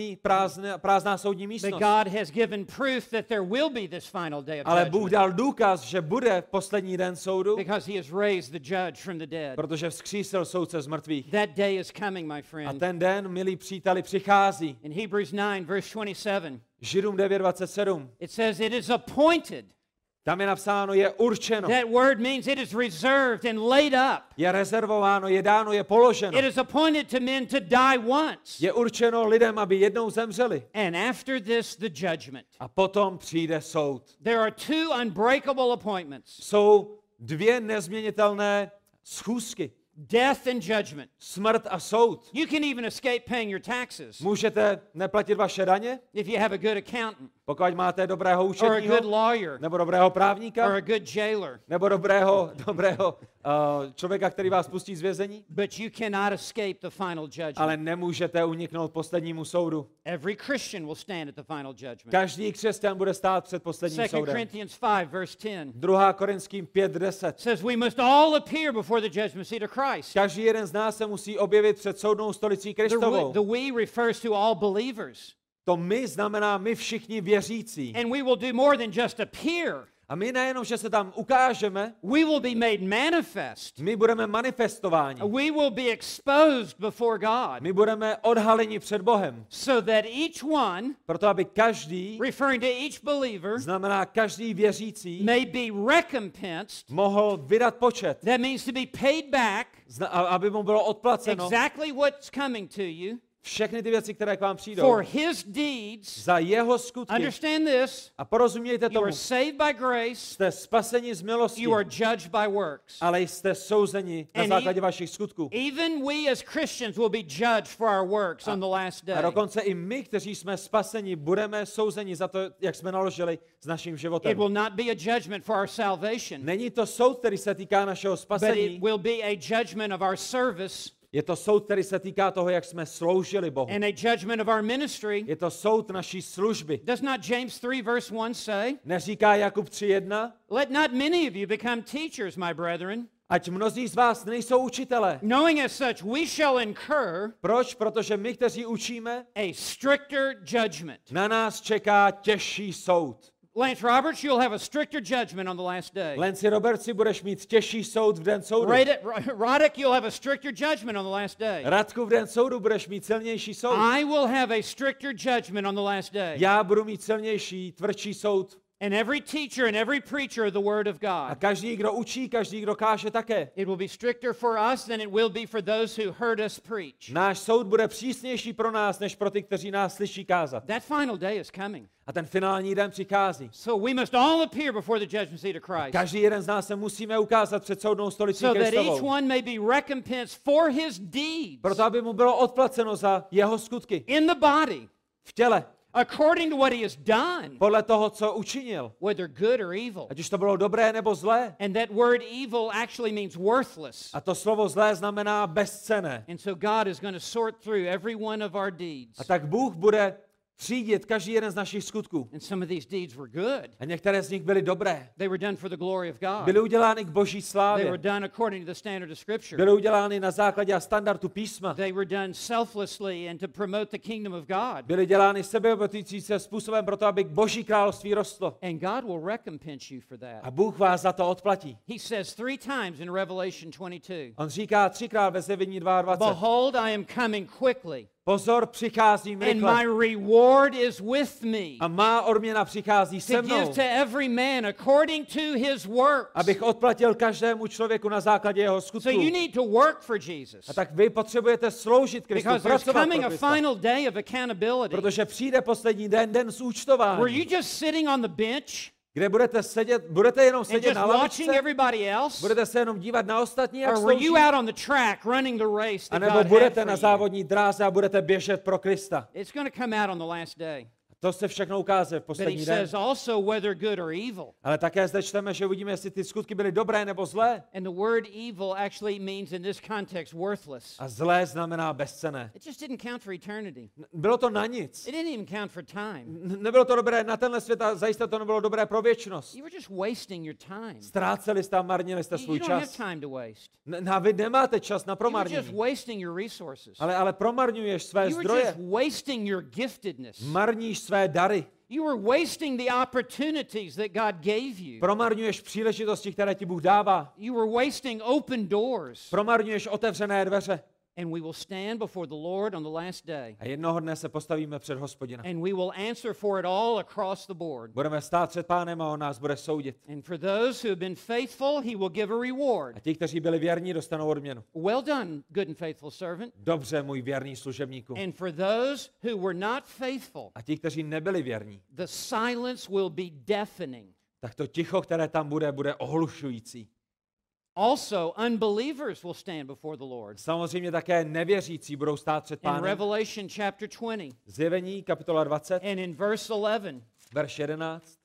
S2: prázdná soudní
S1: But
S2: místnost.
S1: God has given proof that there will be this final day of
S2: Ale Bůh
S1: judgment
S2: dal důkaz, že bude poslední den soudu,
S1: because he has raised the judge from the dead.
S2: protože vzkřísil soudce z mrtvých.
S1: That day is coming, my
S2: A
S1: friend.
S2: ten den, milí příteli, přichází.
S1: In Hebrews 9, verse 27,
S2: Židům 9:27.
S1: it says, "It is appointed."
S2: Tam je napsáno, je určeno,
S1: That word means it is reserved and laid up.
S2: je rezervováno, je dáno, je položeno.
S1: It is appointed to men to die once,
S2: Je určeno lidem, aby jednou zemřeli.
S1: and after this, the judgment.
S2: A potom přijde soud.
S1: There are two unbreakable appointments,
S2: Jsou dvě nezměnitelné schůzky.
S1: death and judgment.
S2: Smrt a soud.
S1: You can even escape paying your taxes
S2: Můžete neplatit vaše daně,
S1: if you have a good accountant
S2: pokud máte dobrého
S1: or a good
S2: účetního,
S1: lawyer
S2: nebo dobrého
S1: or
S2: právníka,
S1: a good jailer,
S2: nebo dobrého člověka, který vás pustí z vězení,
S1: but you cannot escape the final judgment.
S2: ale nemůžete uniknout poslednímu soudu.
S1: Every Christian will stand at the final judgment.
S2: Každý křesťan bude stát před posledním
S1: 2
S2: soudem.
S1: Corinthians 5, verse 10
S2: 2. Korinským 5:10.
S1: says we must all appear before the judgment seat of Christ.
S2: Každý jeden z nás se musí objevit před soudnou stolicí Kristovou.
S1: The we refers to all believers.
S2: To my znamená my všichni věřící.
S1: And we will do more than just appear.
S2: A my nejenom, že se tam ukážeme,
S1: We will be made manifest.
S2: my budeme manifestováni.
S1: We will be exposed before God.
S2: My budeme odhaleni před Bohem.
S1: So that each one,
S2: Proto, aby každý,
S1: referring to each believer,
S2: znamená každý věřící,
S1: may be recompensed.
S2: mohl vydat počet.
S1: That means to be paid back
S2: Aby mu bylo odplaceno
S1: exactly what's coming to you
S2: všechny ty věci, které k vám přijdou.
S1: for his deeds.
S2: Za jeho skutky.
S1: Understand this.
S2: A porozumějte
S1: You
S2: tomu.
S1: are saved by grace.
S2: Jste spaseni z milosti,
S1: You are judged by works.
S2: ale jste souzeni na
S1: And
S2: základě vašich skutků.
S1: Even we as Christians will be judged for our works on the last
S2: A
S1: day.
S2: dokonce i my, kteří jsme spaseni, budeme souzeni za to, jak jsme naložili s naším
S1: It
S2: životem.
S1: will not be a judgment for our salvation,
S2: Není to soud, který se týká našeho
S1: but it
S2: spasení.
S1: will be a judgment of our service
S2: Je to soud, který se týká toho, jak jsme sloužili Bohu.
S1: and a judgment of our ministry.
S2: Je to soud naší služby.
S1: Does not James 3 verse 1 say,
S2: Neříká Jakub 3:1,
S1: "Let not many of you become teachers, my brethren,
S2: ať mnozí z vás nejsou učitelé.
S1: knowing as such we shall incur
S2: Proč? Protože my, kteří učíme,
S1: a stricter judgment."
S2: na nás čeká těžší soud.
S1: Lance Roberts, you'll have a stricter judgment on the last day.
S2: Lenci Robertsi, budeš mít těžší soud v den soudu.
S1: Roddick, you'll have a stricter judgment on the last day.
S2: Radku, v den soudu budeš mít silnější soud.
S1: I will have a stricter judgment on the last day.
S2: Já budu mít silnější, tvrdší soud
S1: And every teacher and every preacher of the Word of
S2: A
S1: God.
S2: každý, kdo učí, každý, kdo káže také.
S1: It will be stricter for us than it will be for those who heard us preach.
S2: Náš soud bude přísnější pro nás, než pro ty, kteří nás slyší kázat.
S1: That final day is coming.
S2: A ten finální den přichází.
S1: So we must all appear before the judgment seat of Christ,
S2: Každý jeden z nás se musíme ukázat před soudnou stolicí
S1: so that each
S2: Kristovou.
S1: one may be recompensed for his deeds
S2: Proto, aby mu bylo odplaceno za jeho skutky
S1: in the body,
S2: v těle,
S1: according to what he has done,
S2: podle toho, co učinil.
S1: whether good or evil.
S2: Ať už to bylo dobré nebo zlé.
S1: And that word evil actually means worthless.
S2: A to slovo zlé znamená bezcenné.
S1: And so God is going to sort through every one of our deeds.
S2: A tak Bůh bude třídit každý jeden z našich skutků.
S1: And some of these deeds were good.
S2: A některé z nich byly dobré.
S1: They were done for the glory of God.
S2: Byly udělány k boží
S1: They
S2: slávě.
S1: were done according to the standard of Scripture.
S2: Byly udělány na základě a standardu písma.
S1: They were done selflessly and to promote the kingdom of God.
S2: Byly dělány sebeobětující se způsobem proto, aby k boží království rostlo.
S1: And God will recompense you for that.
S2: A Bůh vás za to odplatí.
S1: He says 3 times in Revelation 22,
S2: On říká 3krát ve Zjevení 22.
S1: behold, I am coming quickly,
S2: Pozor, přicházím
S1: and
S2: rychle.
S1: my reward is with me,
S2: A má odměna přichází
S1: to
S2: se
S1: give
S2: mnou,
S1: to every man according to his works.
S2: abych odplatil každému člověku na základě jeho
S1: So you
S2: skutků.
S1: need to work for Jesus,
S2: A tak vy potřebujete sloužit Kristu,
S1: because there's
S2: pracovat
S1: coming
S2: pro
S1: a
S2: Krista.
S1: final day of accountability
S2: Protože přijde poslední den, den
S1: where you
S2: zúčtování,
S1: just sitting on the bench
S2: kde budete jenom
S1: and
S2: sedět
S1: just
S2: na
S1: watching
S2: lavičce,
S1: everybody else,
S2: budete se jenom dívat na ostatní, jak
S1: or were you
S2: slouží,
S1: out on the track running the race that
S2: anebo
S1: God had
S2: budete
S1: for
S2: na
S1: you?
S2: závodní dráze a budete běžet pro Krista.
S1: It's going to come out on the last day.
S2: To se všechno ukáže v
S1: But he
S2: poslední den.
S1: says also whether good or evil.
S2: Ale také zde čteme, že uvidíme, jestli ty skutky byly dobré nebo zlé.
S1: And the word evil actually means in this context worthless.
S2: A zlé znamená bezcenné.
S1: It just didn't count for eternity.
S2: Bylo to na nic.
S1: It didn't even count for time.
S2: Nebylo to dobré na tenhle svět a zajisté to nebylo dobré pro věčnost.
S1: You were just wasting your time.
S2: Ztráceli jste a marnili jste
S1: You
S2: svůj
S1: don't have
S2: čas.
S1: time to waste.
S2: A vy nemáte čas na
S1: You were just
S2: promarnění.
S1: wasting your resources.
S2: Ale promarňuješ své
S1: You were
S2: zdroje.
S1: just wasting your giftedness.
S2: Marníš své dary.
S1: You were wasting the opportunities that God gave you.
S2: Promarňuješ příležitosti, které ti Bůh dává.
S1: You were wasting open doors.
S2: Promarňuješ otevřené dveře.
S1: And we will stand before the Lord on the last day.
S2: A jednoho dne se postavíme před Hospodina.
S1: And we will answer for it all across the board.
S2: Budeme stát před Pánem a on nás bude soudit.
S1: And for those who have been faithful, he will give a reward.
S2: A ti, kteří byli věrní, dostanou odměnu.
S1: Well done, good and faithful servant.
S2: Dobře, můj věrný služebníku.
S1: And for those who were not faithful,
S2: A ti, kteří nebyli věrní,
S1: the silence will be deafening.
S2: tak to ticho, které tam bude ohlušující.
S1: Also, unbelievers will stand before the Lord.
S2: Samozřejmě také nevěřící budou stát před
S1: In
S2: Pánem.
S1: Revelation chapter 20
S2: Zjevení, kapitola 20,
S1: and in verse 11,
S2: verš 11.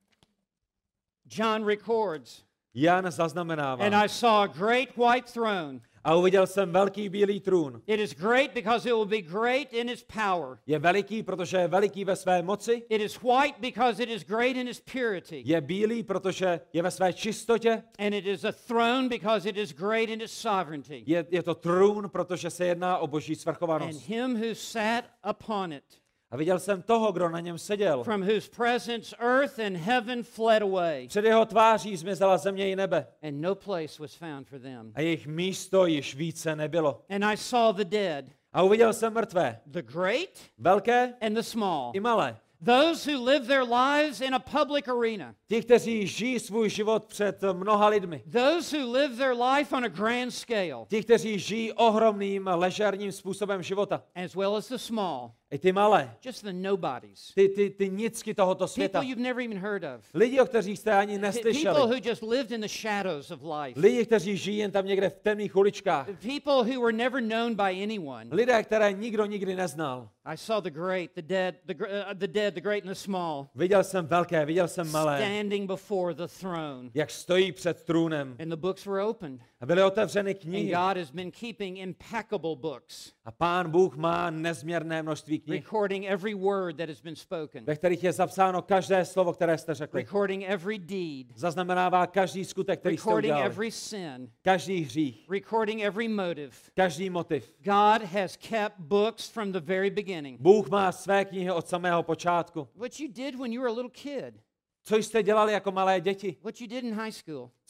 S1: John records,
S2: Jan zaznamenává.
S1: and I saw a great white throne.
S2: A uviděl jsem velký bílý trůn.
S1: It is great because it will be great in its power.
S2: Je veliký, protože je veliký ve své moci.
S1: It is white because it is great in its purity.
S2: Je bílý, protože je ve své čistotě.
S1: And it is a throne because it is great in its sovereignty.
S2: Je to trůn, protože se jedná o boží
S1: And
S2: svrchovanost.
S1: him who sat upon it,
S2: A viděl jsem toho, kdo na něm seděl.
S1: from whose presence earth and heaven fled away,
S2: Před jeho tváří zmizela země i nebe.
S1: and no place was found for them.
S2: A jejich místo již více nebylo.
S1: And I saw the dead,
S2: A uviděl jsem mrtvé.
S1: the great
S2: Velké
S1: and the small,
S2: i malé.
S1: those who live their lives in a public arena,
S2: Ti, kteří žijí svůj život před mnoha lidmi.
S1: those who live their life on a grand scale,
S2: Ti, kteří žijí ohromným, ležérním způsobem života.
S1: as well as the small,
S2: I ty malé.
S1: just the nobodies,
S2: Ty nicky tohoto světa.
S1: people you've never even heard of,
S2: Lidi, o kterých jste ani
S1: people
S2: neslyšeli.
S1: who just lived in the shadows of life,
S2: Lidi, kteří žijí jen tam někde v temných uličkách.
S1: people who were never known by anyone.
S2: Lidé, které nikdo nikdy neznal.
S1: I saw the great, the dead, the great and the small,
S2: Viděl jsem velké, viděl jsem malé,
S1: standing before the throne.
S2: jak stojí před trůnem.
S1: And the books were opened.
S2: A byly otevřeny
S1: And
S2: knihy.
S1: God has been keeping impeccable books,
S2: A Pán Bůh má nezměrné množství knih,
S1: recording every word that has been spoken,
S2: ve kterých je zapsáno každé slovo, které jste řekli.
S1: recording every deed,
S2: Zaznamenává každý skutek, který jste
S1: recording
S2: udělali.
S1: every sin,
S2: Každý hřích,
S1: recording every motive.
S2: každý motiv.
S1: God has kept books from the very beginning.
S2: Bůh má své knihy od samého počátku.
S1: What you did when you were a little kid,
S2: Co jste dělali jako malé děti?
S1: what you did in high school,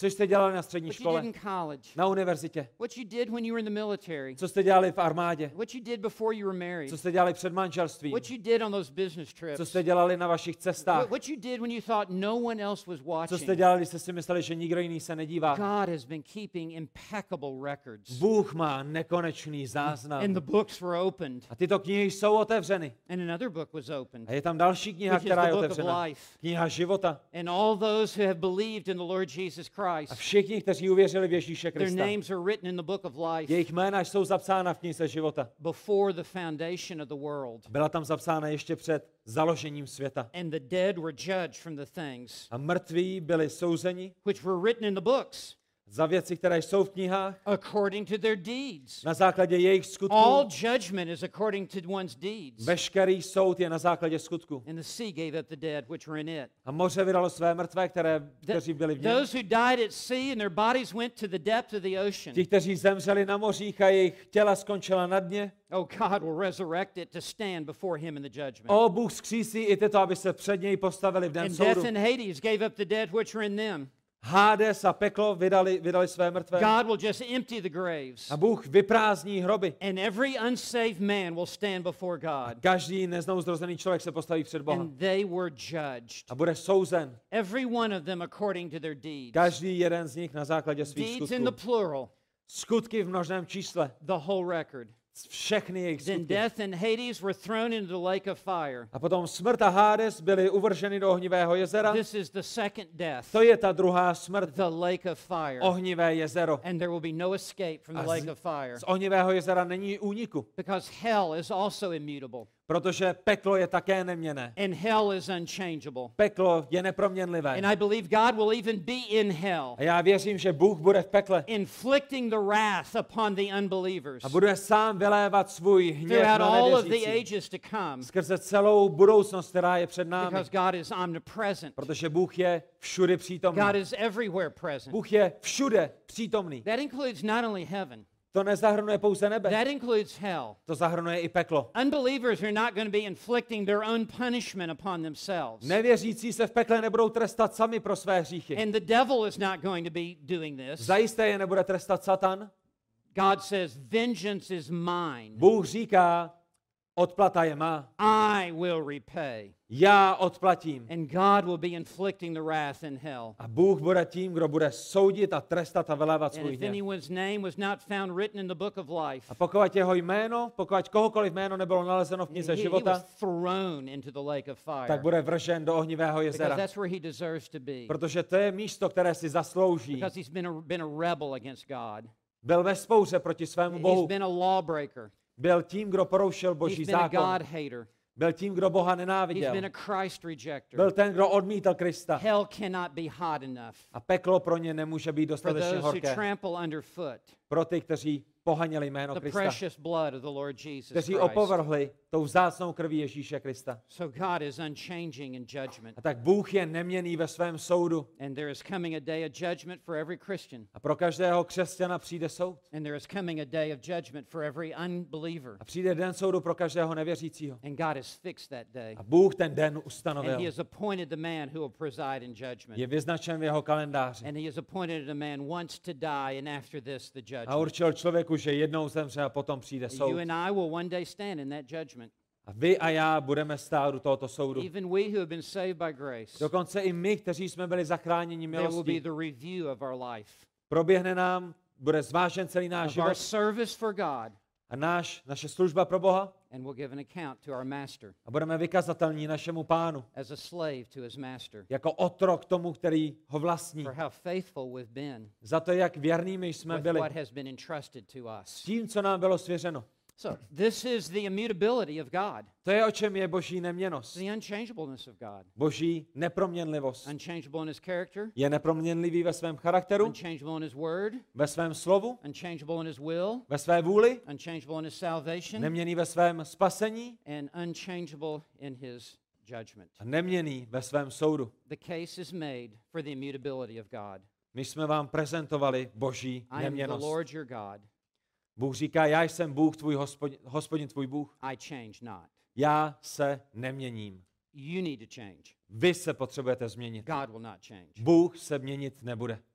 S2: Co jste dělali na střední
S1: what you
S2: škole,
S1: did in college,
S2: na univerzitě,
S1: what you did when you were in the military,
S2: co jste dělali v armádě,
S1: what you did before you were married,
S2: co jste dělali před manželstvím,
S1: what you did on those business
S2: co
S1: trips,
S2: jste dělali na vašich cestách,
S1: what you did when you thought no one else was
S2: co jste
S1: watching.
S2: dělali, když jste si mysleli, že nikdo jiný se nedívá.
S1: God has been keeping impeccable records.
S2: Bůh má nekonečný záznam.
S1: And the books were opened.
S2: A tyto knihy jsou otevřeny.
S1: And another book was opened,
S2: A je tam další kniha,
S1: which is
S2: která
S1: the
S2: je
S1: book of
S2: otevřena.
S1: life.
S2: Kniha života.
S1: And all those who have believed in the Lord Jesus
S2: A
S1: Christ,
S2: všichni, kteří uvěřili v Ježíše
S1: their
S2: Krista,
S1: names are written in the book of life
S2: jejich jména jsou zapsána v knize života.
S1: before the foundation of the world.
S2: Byla tam zapsána ještě před založením světa.
S1: And the dead were judged from the things
S2: A mrtví byli souzeni
S1: which were written in the books
S2: za věci, které jsou v knihách,
S1: according to their deeds.
S2: na základě jejich skutků.
S1: All judgment is according to one's deeds.
S2: Veškerý soud je na základě skutků.
S1: And the sea gave up the dead which were in it.
S2: A moře vydalo své mrtvé, kteří byli v něm.
S1: Those who died at sea and their bodies went to the depth of the ocean.
S2: Ti, kteří zemřeli na mořích a jejich těla skončila na dně.
S1: Oh, God will resurrect it to stand before him in the judgment.
S2: O, Bůh vzkřísí i tyto, aby se před něj postavili v den
S1: And
S2: soudu.
S1: death and Hades gave up the dead which were in them.
S2: Hades a peklo vydali své mrtvé.
S1: God will just empty the graves.
S2: A Bůh vyprázdní hroby.
S1: And every unsaved man will stand before God.
S2: Každý neznouzrozený člověk se postaví před Boha.
S1: And they were judged.
S2: A bude souzen.
S1: Every one of them according to their deeds.
S2: Každý jeden z nich na základě svých
S1: Deeds in the
S2: skutků.
S1: plural,
S2: Skutky v množném čísle.
S1: the whole record.
S2: Všechny jejich
S1: Then
S2: skutky.
S1: death and Hades were thrown into the lake of fire.
S2: A potom smrt a Hades byly uvrženy do ohnivého jezera.
S1: This is the second death,
S2: To je ta druhá smrt.
S1: the lake of fire.
S2: Ohnivé jezero.
S1: And there will be no escape from the
S2: A
S1: lake of fire.
S2: z ohnivého jezera není úniku,
S1: Because hell is also immutable.
S2: protože peklo je také neměnné.
S1: And hell is unchangeable.
S2: Peklo je neproměnlivé.
S1: And I believe God will even be in hell,
S2: A já věřím, že Bůh bude v pekle
S1: inflicting the wrath upon the unbelievers
S2: a bude sám vylévat svůj hněv
S1: throughout
S2: na
S1: all of the
S2: nevěřící
S1: ages to come.
S2: skrze celou budoucnost, která je před námi,
S1: Because God is omnipresent.
S2: protože Bůh je všude přítomný.
S1: God is everywhere present.
S2: Bůh je všude přítomný.
S1: That includes not only heaven,
S2: To nezahrnuje pouze nebe,
S1: that includes hell.
S2: to zahrnuje i peklo.
S1: Unbelievers are not going to be inflicting their own punishment upon themselves.
S2: Nevěřící se v pekle nebudou trestat sami pro své hříchy.
S1: And the devil is not going to be doing this.
S2: Zajisté je nebude trestat Satan.
S1: God says, vengeance is mine.
S2: Bůh říká, odplata je má.
S1: I will repay.
S2: Já odplatím.
S1: And God will be inflicting the wrath in hell.
S2: A Bůh bude tím, kdo bude soudit a trestat a vylévat
S1: And
S2: svůj
S1: if
S2: hněv.
S1: anyone's name was not found written in the book of life,
S2: A pokud jeho jméno, pokud kohokoliv jméno nebylo nalezeno v knize
S1: he
S2: života,
S1: was thrown into the lake of
S2: tak
S1: fire.
S2: bude vržen do ohnivého
S1: Because
S2: jezera.
S1: that's where he deserves to be.
S2: Protože to je místo, které si zaslouží.
S1: Because he's been a rebel against God.
S2: Byl ve spouře proti svému
S1: He's
S2: Bohu.
S1: been a lawbreaker.
S2: Byl tím, kdo porušil Boží
S1: He's been a
S2: zákon.
S1: God hater.
S2: Byl tím, kdo Boha
S1: He's
S2: nenáviděl.
S1: been a Christ rejecter.
S2: Byl ten, kdo odmítal Krista.
S1: Hell cannot be hot enough
S2: A peklo pro ně nemůže být
S1: for
S2: dostatečně
S1: those who
S2: horké.
S1: trample underfoot
S2: Pro ty, kteří pohaněli jméno
S1: the
S2: Krista.
S1: precious blood of the Lord Jesus
S2: Kteří
S1: Christ.
S2: opovrhli tou vzácnou krví Ježíše Krista.
S1: So God is unchanging in judgment.
S2: A tak Bůh je neměnný ve svém soudu.
S1: And there is coming a day of judgment for every Christian.
S2: A pro každého křesťana přijde soud.
S1: And there is coming a day of judgment for every unbeliever.
S2: A přijde den soudu pro každého nevěřícího.
S1: And God has fixed that day.
S2: A Bůh ten den
S1: And he
S2: ustanovil.
S1: has appointed the man who will preside in judgment.
S2: Je vyznačen v jeho kalendáři.
S1: And he has appointed a man once to die, and after this the
S2: A
S1: judgment.
S2: určil člověku, že jednou zemře a potom přijde soud.
S1: You and I will one day stand in that judgment.
S2: A vy a já budeme stát u tohoto soudu.
S1: Even we who have been saved by grace,
S2: Dokonce i my, kteří jsme byli zachráněni
S1: there will be
S2: milostí.
S1: the review of our life,
S2: Proběhne nám, bude zvážen celý náš
S1: of our
S2: život
S1: service for God,
S2: a naše služba pro Boha
S1: and we'll give an account to our master
S2: a budeme vykazatelní našemu pánu.
S1: as a slave to his master
S2: Jako otrok tomu, který ho vlastní.
S1: for how faithful we've been
S2: Za to, jak věrnými jsme
S1: with
S2: byli.
S1: what has been entrusted to us.
S2: Tím, co nám bylo svěřeno.
S1: So this is the immutability of God,
S2: To je, o čem je boží neměnnost.
S1: the unchangeableness of God.
S2: Boží neproměnlivost.
S1: Unchangeable in his character,
S2: Je neproměnlivý ve svém charakteru,
S1: unchangeable in his word,
S2: ve svém slovu,
S1: unchangeable in his will,
S2: ve své vůli,
S1: unchangeable in his salvation,
S2: neměný ve svém spasení
S1: and unchangeable in his judgment.
S2: a neměný ve svém soudu.
S1: The case is made for the immutability of God.
S2: My jsme vám prezentovali boží
S1: I am the
S2: neměnost.
S1: Lord your God.
S2: Bůh říká, já jsem Bůh tvůj hospodin tvůj Bůh.
S1: I change not.
S2: Já se neměním.
S1: You need to change.
S2: Vy se potřebujete změnit.
S1: God will not change.
S2: Bůh se měnit nebude.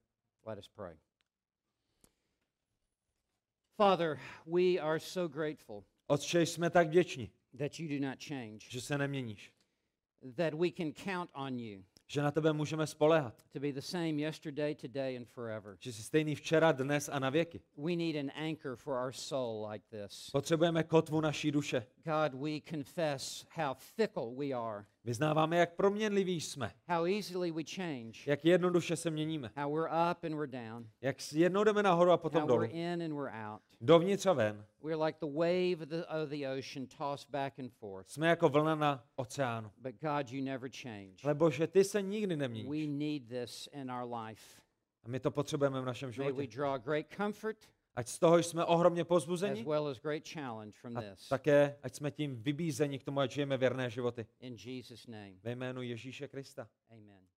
S1: Let us pray. Father, we are so grateful
S2: Otče, jsme tak vděční,
S1: that you do not change,
S2: že se neměníš,
S1: that we can count on you
S2: že na tebe můžeme spoléhat,
S1: to be the same yesterday, today, and forever.
S2: že jsi stejný včera, dnes a na věky.
S1: We need an anchor for our soul like this.
S2: Potřebujeme kotvu naší duše.
S1: God, we confess how fickle we are,
S2: Vyznáváme, jak proměnliví jsme,
S1: how easily we change,
S2: jak jednoduše se měníme,
S1: how we're up and we're down,
S2: jak jednou jdeme nahoru a potom
S1: how
S2: dolů,
S1: we're in and we're out.
S2: dovnitř a ven.
S1: We're like the wave of the ocean tossed back and forth.
S2: Jsme jako vlna na oceánu.
S1: But God, you never change.
S2: Ale Bože, ty se nikdy
S1: We
S2: neměníš.
S1: need this in our life.
S2: A my to potřebujeme v našem
S1: May we
S2: životě.
S1: draw great comfort
S2: Ať z toho jsme ohromně
S1: as
S2: pozbuzeni
S1: well as great challenge from
S2: a
S1: this.
S2: také, ať jsme tím vybízeni k tomu, ať žijeme věrné životy.
S1: In Jesus' name,
S2: Ve jménu Ježíše Krista.
S1: amen.